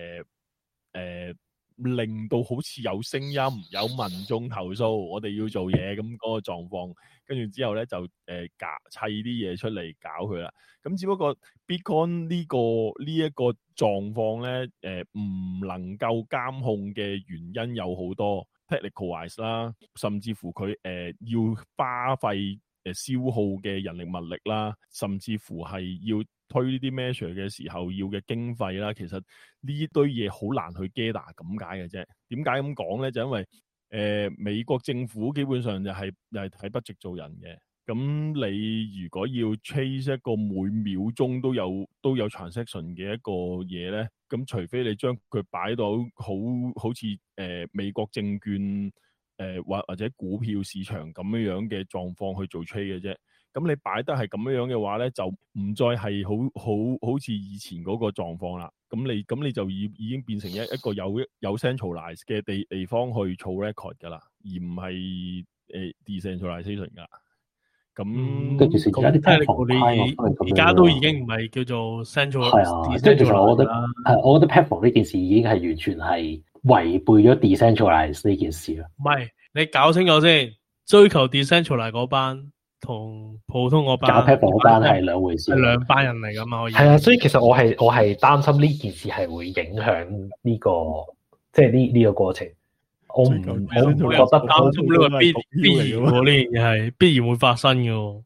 令到好似有聲音，有民眾投訴，我哋要做嘢咁嗰個狀況，跟住之後咧就砌啲嘢出嚟搞佢啦。咁只不過 Bitcoin 呢一個狀況咧，唔能夠監控嘅原因有好多。technical-wise 啦，甚至乎佢要花費消耗嘅人力物力啦，甚至乎係要推呢啲 measure 嘅時候要嘅經費啦，其實呢堆嘢好難去 gather 咁解嘅啫。點解咁講咧？就因為美國政府基本上又係睇 budget 做人嘅。咁你如果要 chase 一個每秒鐘都有 transaction 嘅一個嘢咧，咁除非你將佢擺到好似美國證券或者股票市場咁樣嘅狀況去做 trade 嘅啫。咁你擺得係咁樣嘅話咧，就唔再係好似以前嗰個狀況啦。咁你就已經變成一個有 centralize 嘅地方去儲 record 噶啦，而唔係decentralization 噶。咁其實而家啲 platform 而家都已經唔係叫做 central。 係啊，即係其實我覺得 platform 呢件事已經係完全係違背咗 decentralize 呢件事啦。 唔係，你搞清楚先，追求 decentralize 嗰班同普通嗰班搞 platform 嗰班係兩回事， 係兩班人嚟噶嘛。 係啊，所以其實我係擔心呢件事係會影響呢個即係呢個過程。我唔覺得擔心呢個必然喎，呢樣嘢係必然會發生嘅。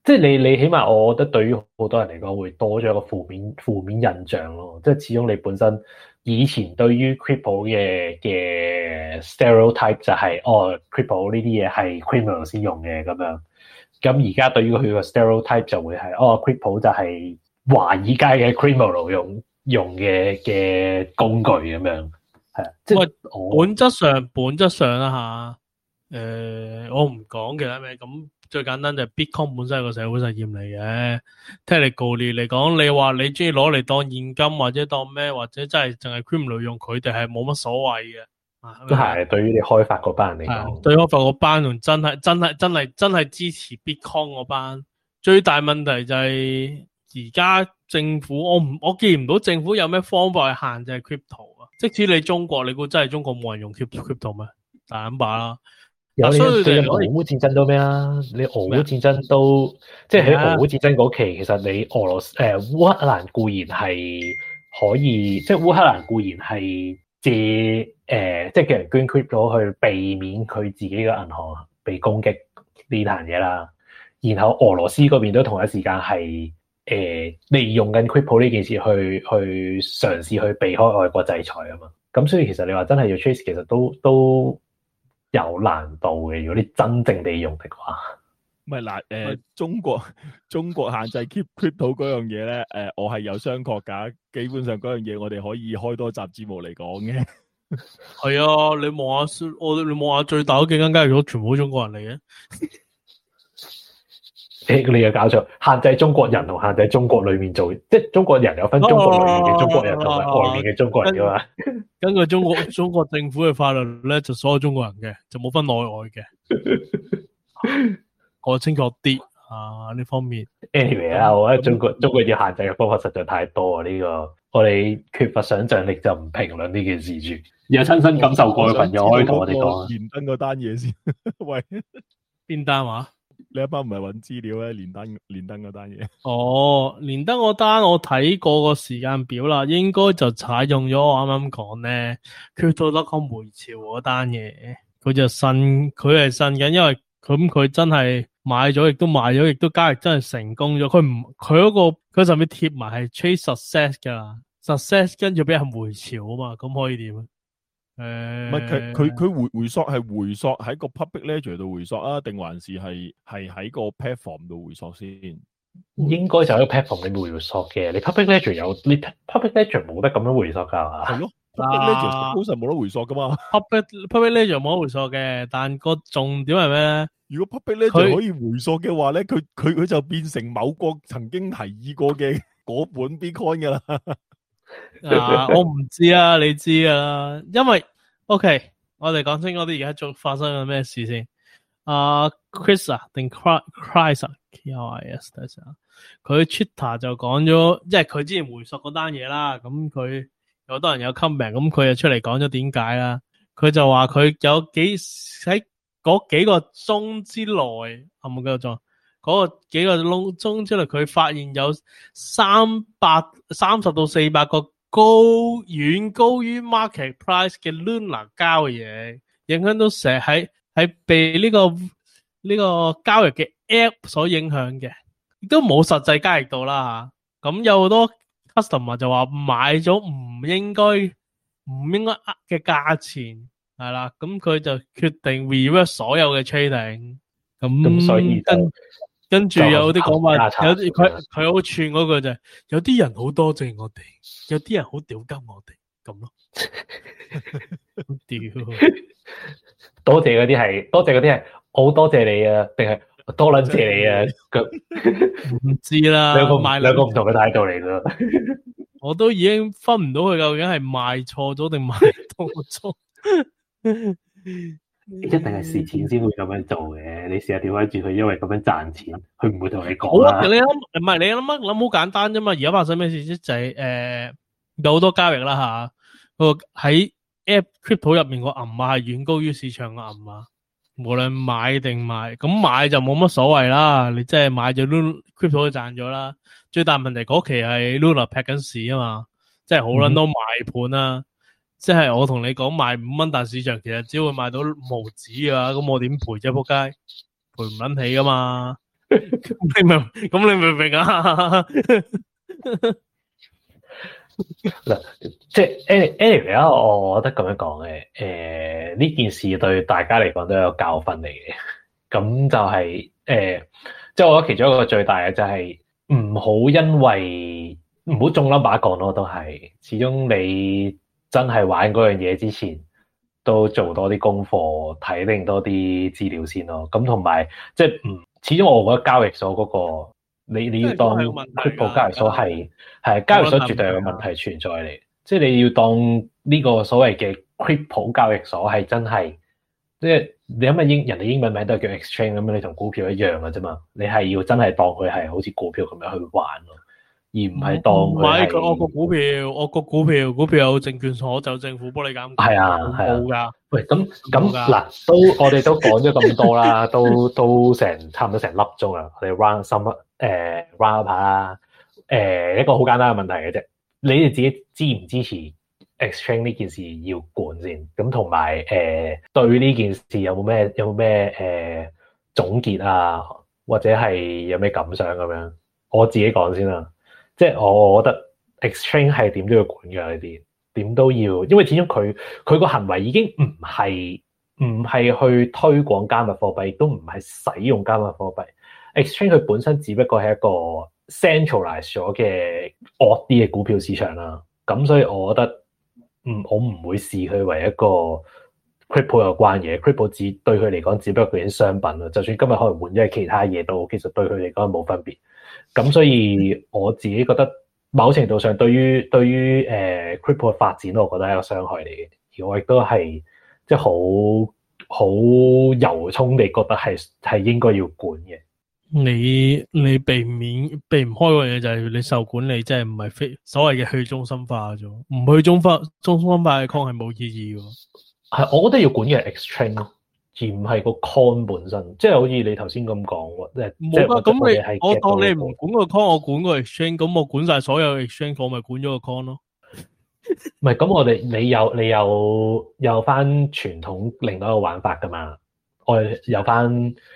即係你起碼我覺得對於好多人嚟講會多咗一個負面印象咯。即係始終你本身以前對於 crypto 嘅 stereotype 就係crypto 呢啲嘢係 criminal 先用嘅咁樣。咁而家對於佢個 stereotype 就會係crypto 就係華爾街嘅 criminal 用嘅工具咁樣。係啊，即係本質上啦吓，我唔講其他咩，咁最簡單就係 Bitcoin 本身係個社會實驗嚟嘅。technically 嚟講，你話你中意攞嚟當現金或者當咩，或者真係淨係 criminal 用，佢哋係冇乜所謂嘅。 都係對於你開發嗰班人嚟講， 對開發嗰班同真係支持 Bitcoin 嗰班，最大問題就係而家政府我見唔到政府有咩方法去限制 crypto 啊。即使你中國，你估真係中國冇人用 crypto 咩？大膽把啦。 有你所以最近俄烏戰爭都咩啦？你俄烏戰爭都即係喺俄烏戰爭嗰期，其實你烏克蘭固然係可以，即係烏克蘭固然係借即係叫人捐 crypto 去避免佢自己嘅銀行被攻擊呢壇嘢啦。然後俄羅斯嗰邊都同一時間係利用緊 crypto 呢件事去嘗試去避開外國制裁啊嘛。咁所以其實你話真係要 trace， 其實都有難度嘅。如果你真正地用的話， 唔係嗱，中國限制 crypto 嗰樣嘢咧，我係有商榷㗎。基本上嗰樣嘢我哋可以開多集節目嚟講嘅。 係啊，你望下最大嗰幾間交易所，全部都中國人嚟嘅。 你又搞錯，限制中國人同限制中國裏面做，即係中國人有分中國裏面嘅中國人同埋外面嘅中國人噶嘛。 根據中國政府嘅法律咧，就所有中國人嘅，就冇分內外嘅。我清楚啲啊呢方面。 Anyway 啦，我覺得中國要限制嘅方法實在太多啊！呢個我哋缺乏想像力就唔評論呢件事住。有親身感受過嘅朋友可以同我哋講。 連登嗰單嘢先，喂， 邊單話？ 你一班唔係揾資料咧？連登嗰單嘢。 連登嗰單我睇過個時間表啦，應該就採用咗我啱啱講咧，Crypto.com 回潮嗰單嘢，佢係信緊，因為佢真係買咗，亦都賣咗，亦都交易真係成功咗。佢上面貼埋係 Trade Success 噶 ，Success 跟住俾人回潮啊嘛，咁可以點啊？ 唔係佢回索係回索喺個 public ledger 度回索啊，定還是係喺個 platform 度回索先？ 應該就喺個 platform 裏面回索嘅。你 public ledger 你 public ledger 冇得咁樣回索噶係嘛？係咯 ，public ledger 通常冇得回索噶嘛。 public ledger 冇得回索嘅，但個重點係咩咧？ 如果 public ledger 可以回索嘅話咧，佢就變成某國曾經提議過嘅嗰本 Bitcoin 噶啦。 我唔知啊，你知啊，因為 OK， 我哋講清楚啲而家仲發生緊咩事先。Chris 啊定 Chris 啊 KRIS 等陣，佢 Twitter 就講咗，即係佢之前回溯嗰單嘢啦。咁佢有好多人有 comment， 咁佢就出嚟講咗點解啦。佢就話佢有喺嗰幾個鐘之內，係冇記錯，嗰個幾個鐘之內，佢發現有330到400個遠高於 market price 嘅 Luna 交易嘢，影響到成日喺被呢個交易嘅 app 所影響嘅，亦都冇實際交易到啦吓。咁有好多 customer 就話買咗唔應該嘅價錢係啦，咁佢就決定 reverse 所有嘅 trading。咁所以跟住有啲講法，有啲佢好串嗰句就係，有啲人好多謝我哋，有啲人好屌鳩我哋咁咯。屌， 多謝嗰啲係好多謝你啊，定係多撚謝你啊？ 唔知啦， 兩個唔同嘅態度嚟噶。 我都已經分唔到佢究竟係賣錯咗定賣多咗。 一定係蝕錢先會咁樣做嘅。你試下調翻轉佢，因為咁樣賺錢，佢唔會同你講啦。 你諗好簡單啫嘛。而家發生咩事啫？就係有好多交易啦吓。個喺 App Crypto 入面個銀碼係遠高於市場嘅銀碼，無論買定賣。咁買就冇乜所謂啦，你即係買咗 Crypto 就賺咗啦。最大問題嗰期係 Luna 劈緊市啊嘛，即係好撚多賣盤啦。即係我同你講賣5蚊，但市場其實只會賣到毫子啊，咁我點賠啫？仆街，賠唔撚起噶嘛。 咁你明唔明啊？ 嗱，即係 anyway 啦，我覺得咁樣講嘅，呢件事對大家嚟講都有教訓嚟嘅。咁就係即係我覺得其中一個最大嘅就係唔好因為唔好中number講咯，都係始終你真係玩嗰樣嘢之前，都做多啲功課，睇定多啲資料先咯。咁同埋即係始終我覺得交易所嗰個你要當 crypto 交易所係交易所絕對有個問題存在嚟，即係你要當呢個所謂嘅 crypto 交易所係真係，即係你諗下人哋英文名都係叫 exchange 咁樣，你同股票一樣嘅啫嘛，你係要真係當佢係好似股票咁樣去玩咯，而唔係當佢係我個股票有證券所就政府幫你監管， 係啊冇㗎。 喂，咁嗱，我哋都講咗咁多啦，都差唔多成粒鐘啦，我哋 round up 下啦。一個好簡單嘅問題嘅啫，你哋自己支唔支持 exchange 呢件事要管先？咁同埋對呢件事有冇咩總結啊，或者係有咩感想咁樣？我自己講先啦，即係我覺得 exchange 係點都要管㗎呢啲。點都要，因為始終佢個行為已經唔係去推廣加密貨幣，亦都唔係使用加密貨幣。Exchange 佢本身只不過係一個 centralize 咗嘅惡啲嘅股票市場啦。咁所以我覺得我唔會視佢為一個 crypto 有關嘢。crypto 對佢嚟講只不過係商品啦。就算今日可能換咗係其他嘢都，其實對佢嚟講冇分別。咁所以我自己覺得，某程度上對於crypto 嘅發展，我覺得係一個傷害嚟嘅。而我亦都係即係好由衷地覺得係應該要管嘅。 你避唔開個嘢就係你受管理，即係唔係所謂嘅去中心化咗，唔去中心化嘅 coin 係冇意義嘅。 係，我覺得要管嘅係 exchange 咯，而唔係個 coin 本身。即係好似你頭先咁講， 冇啊。咁我當你唔管個 coin，我管個 exchange，咁我管晒所有 exchange，我咪管咗個 coin 咯。 唔係，咁你有翻傳統另外一個玩法噶嘛？我有翻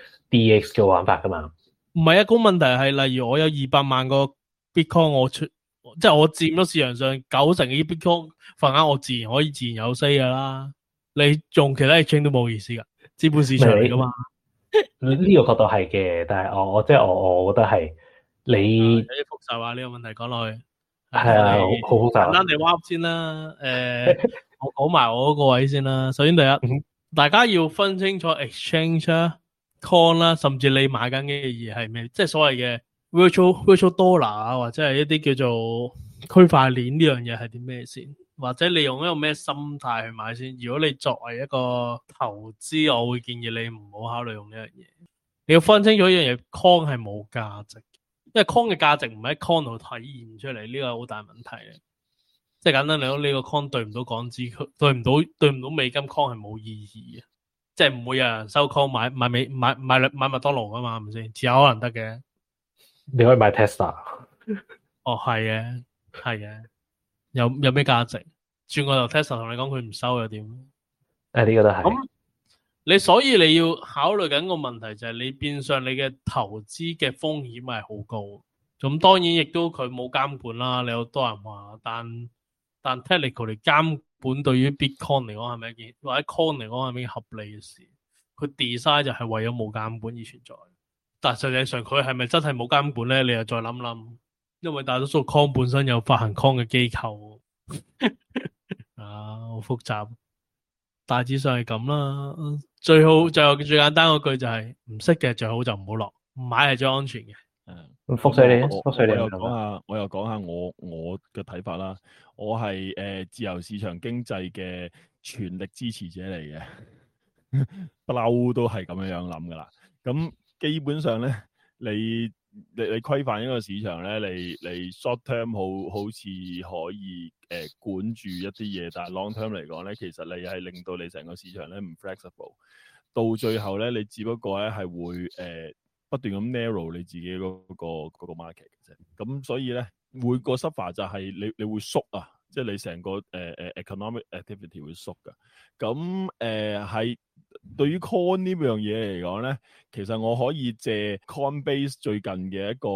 DX 嘅玩法噶嘛？ 唔係啊，個問題係，例如我有200萬個 Bitcoin，即係我佔咗市場上90%嘅 Bitcoin 份額，我自然可以自然有 say 噶啦。你用其他 exchange 都冇意思噶，資本市場嚟噶嘛。 呢個角度係嘅，但係我覺得係你有啲複雜啊，呢個問題講落去係啊，好複雜。 簡單地 wrap 先啦。我講埋我嗰個位先啦。首先第一，大家要分清楚 exchange 啦、coin 啦，甚至你買緊嘅嘢係咩，即係所謂嘅 virtual dollar 啊，或者係一啲叫做區塊鏈呢樣嘢係啲咩先，或者你用一個咩心態去買先。如果你作為一個投資，我會建議你唔好考慮用呢樣嘢。你要分清楚一樣嘢 ，coin 係冇價值，因為 coin 嘅價值唔喺 coin 度體現出嚟，呢個係好大問題嘅。即係簡單嚟講，呢個 coin 對唔到港紙，對唔到美金 coin 係冇意義嘅，即係唔會有人收 coin 買麥當勞噶嘛，係咪先？只有可能得嘅。 你可以買 Tesla。 哦，係嘅，有咩價值？轉個頭 Tesla 同你講佢唔收又點？ 呢個都係。 咁所以你要考慮緊個問題就係你變相你嘅投資嘅風險係好高。咁當然亦都佢冇監管啦。你有多人話，但 technical 嚟監管對於 Bitcoin 嚟講係咪一件，或者 Coin 嚟講係咪一件合理嘅事？佢 design 就係為咗冇監管而存在。但實際上佢係咪真係冇監管咧？你又再諗諗，因為大多數 Coin 本身有發行 Coin 嘅機構好複雜。大致上係咁啦。最後最簡單嗰句就係唔識嘅最好就唔好落，唔買係最安全嘅。 覆水你， 我又講下我嘅睇法啦。我係自由市場經濟嘅全力支持者嚟嘅，不嬲都係咁樣諗噶啦。咁基本上咧，你規範一個市場咧，你 short term 好似可以管住一啲嘢，但係 long term 嚟講咧，其實你係令到你成個市場咧唔 flexible， 到最後咧你只不過咧係會不斷咁 narrow 你自己嗰個 market 嘅啫。咁所以咧每個 suffer 就係你會縮啊，即係你成個economic activity 會縮噶。咁係對於 Coin 呢樣嘢嚟講咧，其實我可以借 Coinbase 最近嘅一個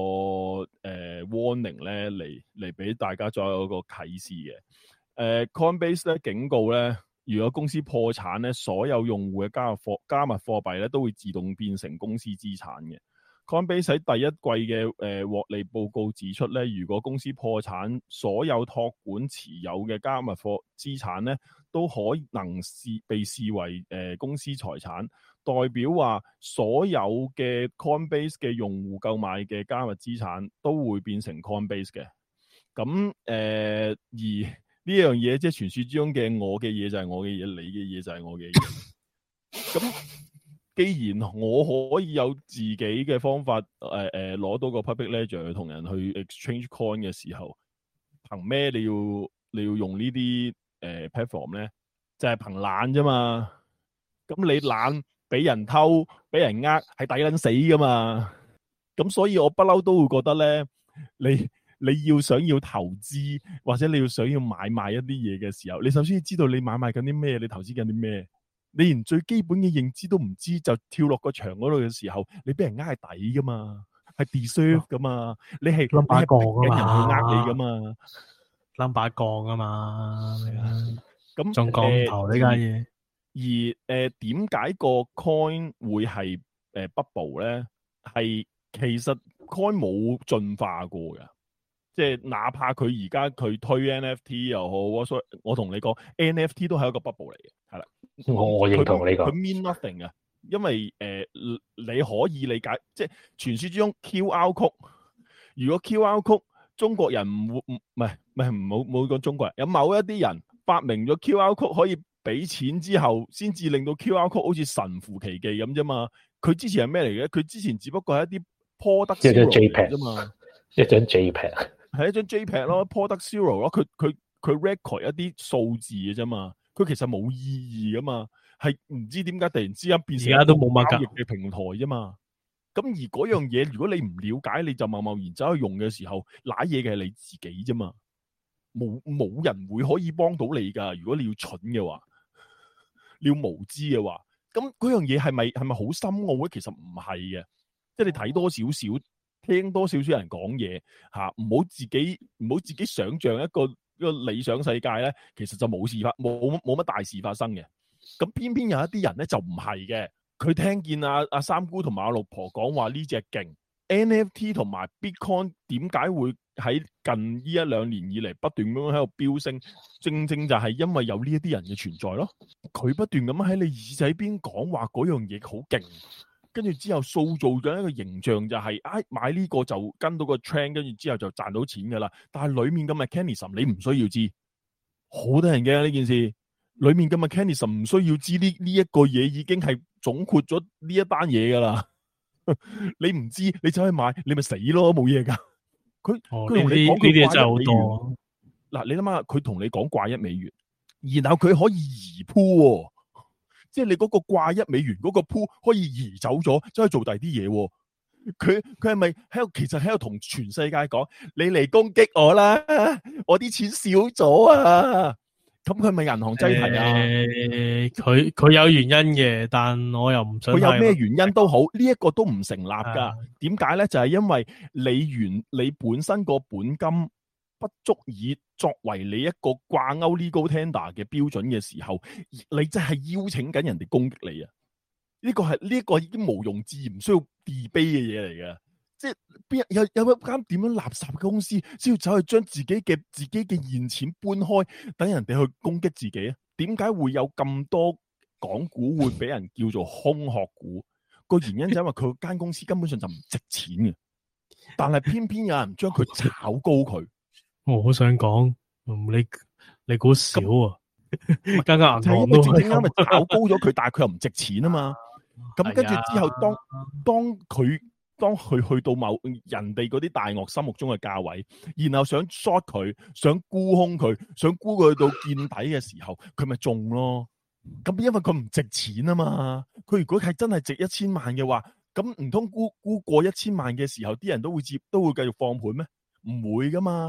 warning 咧嚟俾大家再有一個啟示嘅。Coinbase 咧警告咧，如果公司破產咧，所有用戶嘅加密貨幣咧都會自動變成公司資產嘅。Coinbase 喺第一季嘅獲利報告指出咧，如果公司破產，所有託管持有嘅加密資產咧，都可能被視為公司財產，代表話所有嘅 Coinbase 嘅用戶購買嘅加密資產都會變成 Coinbase 嘅。咁而呢樣嘢即係傳說之中嘅我嘅嘢就係我嘅嘢，你嘅嘢就係我嘅嘢。咁既然我可以有自己嘅方法，攞到個 public ledger 同人去 exchange coin 嘅時候，憑咩你要用呢啲platform 咧？就係憑懶啫嘛。咁你懶俾人偷俾人係抵撚死噶嘛。咁所以我不嬲都會覺得咧，你要想要投資或者你要想要買賣一啲嘢嘅時候，你首先要知道你買賣緊啲咩，你投資緊啲咩。你連最基本嘅認知都唔知，就跳落個場嗰度嘅時候，你俾人係抵噶嘛，係 deserve 噶嘛，你係冧把槓人去你噶嘛， 冧把槓啊嘛， 咁仲講頭呢家嘢。 而點解個 coin 會係bubble 咧？係其實 coin 冇進化過嘅，即係哪怕佢而家佢推 NFT 又好，我同你講 NFT 都係一個 bubble 嚟嘅，係啦。 我認同你講， 佢 mean nothing 啊，因為你可以理解，即係傳說之中 QR code， 如果 QR code 中國人唔係冇講中國人，有某一啲人發明咗 QR code 可以俾錢之後，先至令到 QR code 好似神乎其技咁啫嘛。佢之前係咩嚟嘅？佢之前只不過係一啲 product zero 嚟啫嘛， 一張 JPEG 係一張 JPEG 咯，product zero 咯，佢 record 一啲數字嘅啫嘛。佢其實冇意義噶嘛，係唔知點解突然之間變成而家都冇乜交易嘅平台啫嘛。咁而嗰樣嘢，如果你唔了解，你就貿然走去用嘅時候，瀨嘢嘅係你自己啫嘛。冇人會可以幫到你噶。如果你要蠢嘅話，你要無知嘅話，咁嗰樣嘢係咪好深奧咧？其實唔係嘅，即係你睇多少少，聽多少少人講嘢吓，唔好自己想象一個理想世界咧，其實就冇乜大事發生嘅。咁偏偏有一啲人咧就唔係嘅，佢聽見阿三姑同埋阿六婆講話呢隻勁 NFT 同埋 Bitcoin 點解會喺近呢1-2年以嚟不斷咁樣喺度飆升？正正就係因為有呢一啲人嘅存在咯。佢不斷咁喺你耳仔邊講話嗰樣嘢好勁，跟住之後塑造咗一個形象，就係買呢個就跟到個 trend， 跟住之後就賺到錢噶啦。但係裏面嘅 mechanism 你唔需要知，好多人嘅呢件事，裏面嘅 mechanism 唔需要知呢一個嘢已經係總括咗呢一單嘢噶啦。你唔知你走去買，你咪死咯，冇嘢噶。佢同你講佢掛1美元，嗱，你諗下佢同你講掛1美元，然後佢可以移鋪，即係你嗰個掛1美元嗰個鋪可以移走咗，走去做第二啲嘢。佢係咪喺度？其實喺度同全世界講，你嚟攻擊我啦，我啲錢少咗啊！咁佢係咪銀行擠提啊？ 佢有原因嘅，但我又唔想。佢有咩原因都好，呢一個都唔成立噶。點解咧？就係因為你本身個本金不足以作為你一個掛鈎 legal tender 嘅標準嘅時候，你真係邀請緊人哋攻擊你啊！呢個已經毋庸置疑，唔需要 debate 嘅嘢嚟嘅。即係邊有一間點樣垃圾嘅公司，先要走去將自己嘅現錢搬開，等人哋去攻擊自己啊？點解會有咁多港股會俾人叫做空殼股？個原因就係因為佢間公司根本上就唔值錢嘅，但係偏偏有人將佢炒高佢。 我好想講，你估少啊？間銀行就係因為正正啱咪炒高咗佢，但係佢又唔值錢啊嘛。咁跟住之後，當佢去到某人哋嗰啲大鱷心目中嘅價位，然後想 short 佢，想沽空佢，想沽佢到見底嘅時候，佢咪中咯。咁因為佢唔值錢啊嘛。佢如果係真係值1000萬嘅話，咁唔通沽過1000萬嘅時候，啲人都會繼續放盤咩？唔會噶嘛。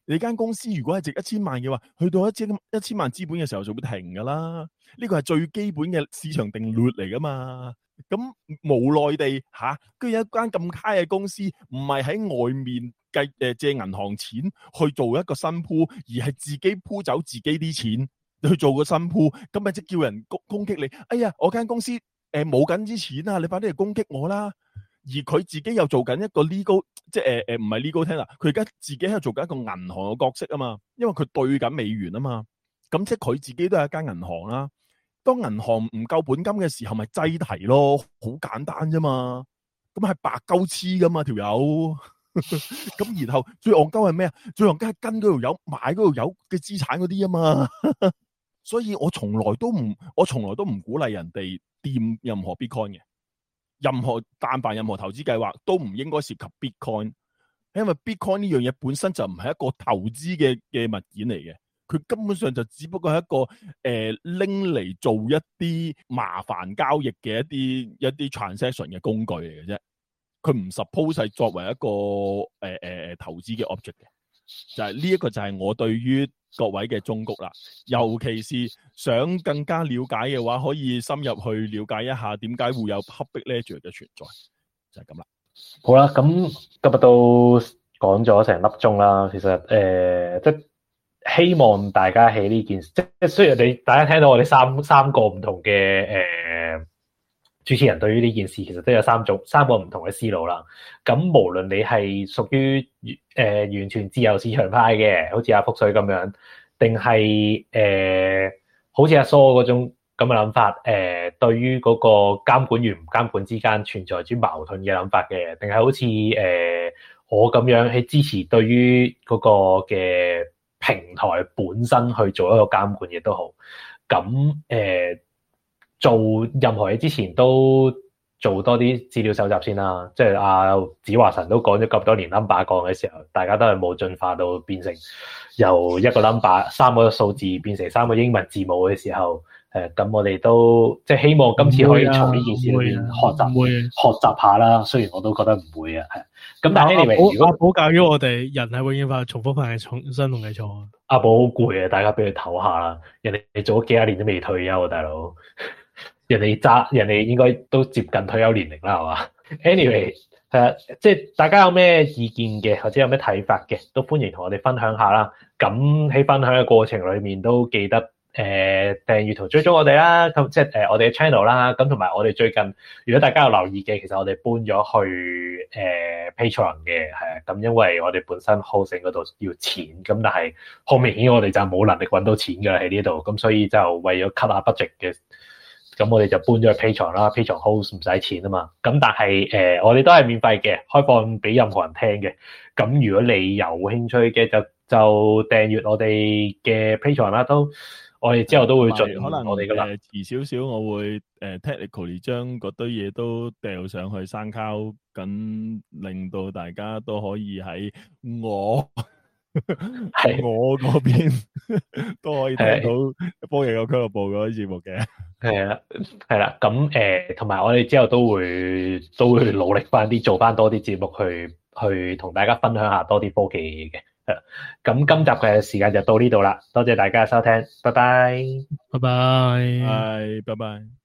你間公司如果係值1000萬嘅話，去到1000萬資本嘅時候就會停噶啦。呢個係最基本嘅市場定律嚟噶嘛。咁無奈地居然有一間咁閪嘅公司，唔係喺外面借銀行錢去做一個新鋪，而係自己鋪走自己啲錢去做個新鋪，咁咪即叫人攻擊你。哎呀，我間公司冇緊啲錢啊，你快啲嚟攻擊我啦！而佢自己又做緊一個 legal， 即係唔係 legal tender，佢而家自己喺度做緊一個銀行嘅角色啊嘛，因為佢對緊美元啊嘛，咁即係佢自己都係一間銀行啦。當銀行唔夠本金嘅時候，咪擠提咯，好簡單啫嘛。咁係白鳩黐噶嘛條友。咁然後最戇鳩係咩啊？最戇鳩係跟嗰條友買嗰條友嘅資產嗰啲啊嘛。所以我從來都唔鼓勵人哋掂任何 Bitcoin 嘅，但凡任何投資計劃都唔應該涉及 Bitcoin， 因為 Bitcoin 呢樣嘢本身就唔係一個投資嘅物件嚟嘅。佢根本上就只不過係一個拎嚟做一啲麻煩交易嘅一啲 transaction 嘅工具嚟嘅啫。佢唔 suppose 係作為一個投資嘅 object 嘅。就係呢一個就係我對於各位嘅忠告啦。尤其是想更加了解嘅話，可以深入去了解一下點解會有 public ledger 嘅存在。就係咁啦。 好啦，咁今日都講咗成粒鐘啦。其實即希望大家喺呢件事，即雖然大家聽到我哋三個唔同嘅主持人對於呢件事，其實都有三個唔同嘅思路啦。咁無論你係屬於完全自由市場派嘅，好似阿福水咁樣，定係好似阿蘇嗰種咁嘅諗法，對於嗰個監管與唔監管之間存在住矛盾嘅諗法嘅，定係好似我咁樣喺支持對於嗰個嘅平台本身去做一個監管亦都好。咁做任何嘢之前都做多啲資料搜集先啦。即係阿子華神都講咗咁多年 number 講嘅時候，大家都係冇進化到變成由一個 number 3個數字變成3個英文字母嘅時候，咁我哋都即係希望今次可以從呢件事裏面學習下啦。雖然我都覺得唔會啊，係。咁但係 anyway，如果阿寶教咗我哋人係永遠快重複犯係新同嘅錯。 阿寶好攰啊，大家俾佢唞下啦。人哋做咗幾廿年都未退休啊，大佬。人哋應該都接近退休年齡啦，係嘛 ？Anyway，即係大家有咩意見嘅，或者有咩睇法嘅，都歡迎同我哋分享下啦。咁喺分享嘅過程裏面，都記得訂閱同追蹤我哋啦。咁即係我哋嘅 channel 啦。咁同埋我哋最近，如果大家有留意嘅，其實我哋搬咗去Patreon 嘅，係啊。咁因為我哋本身 hosting 嗰度要錢，咁但係好明顯我哋就冇能力揾到錢㗎喺呢度，咁所以就為咗 cut 下 budget 嘅。咁我哋就搬咗去 Patreon 啦 ，Patreon host 唔使錢啊嘛。咁但係我哋都係免費嘅，開放俾任何人聽嘅。咁如果你有興趣嘅，就訂閱我哋嘅 Patreon 啦。都我哋之後都會盡可能我哋噶啦。 遲少少，我會technically 將嗰堆嘢都掉上去SoundCloud，咁令到大家都可以喺我我嗰邊都可以聽到科技嘅俱樂部嗰啲節目嘅。 係啦，咁同埋我哋之後都會努力翻啲，做翻多啲節目去同大家分享下多啲科技嘅嘢嘅。咁今集嘅時間就到呢度啦，多謝大家嘅收聽，拜拜， 拜拜， 拜拜。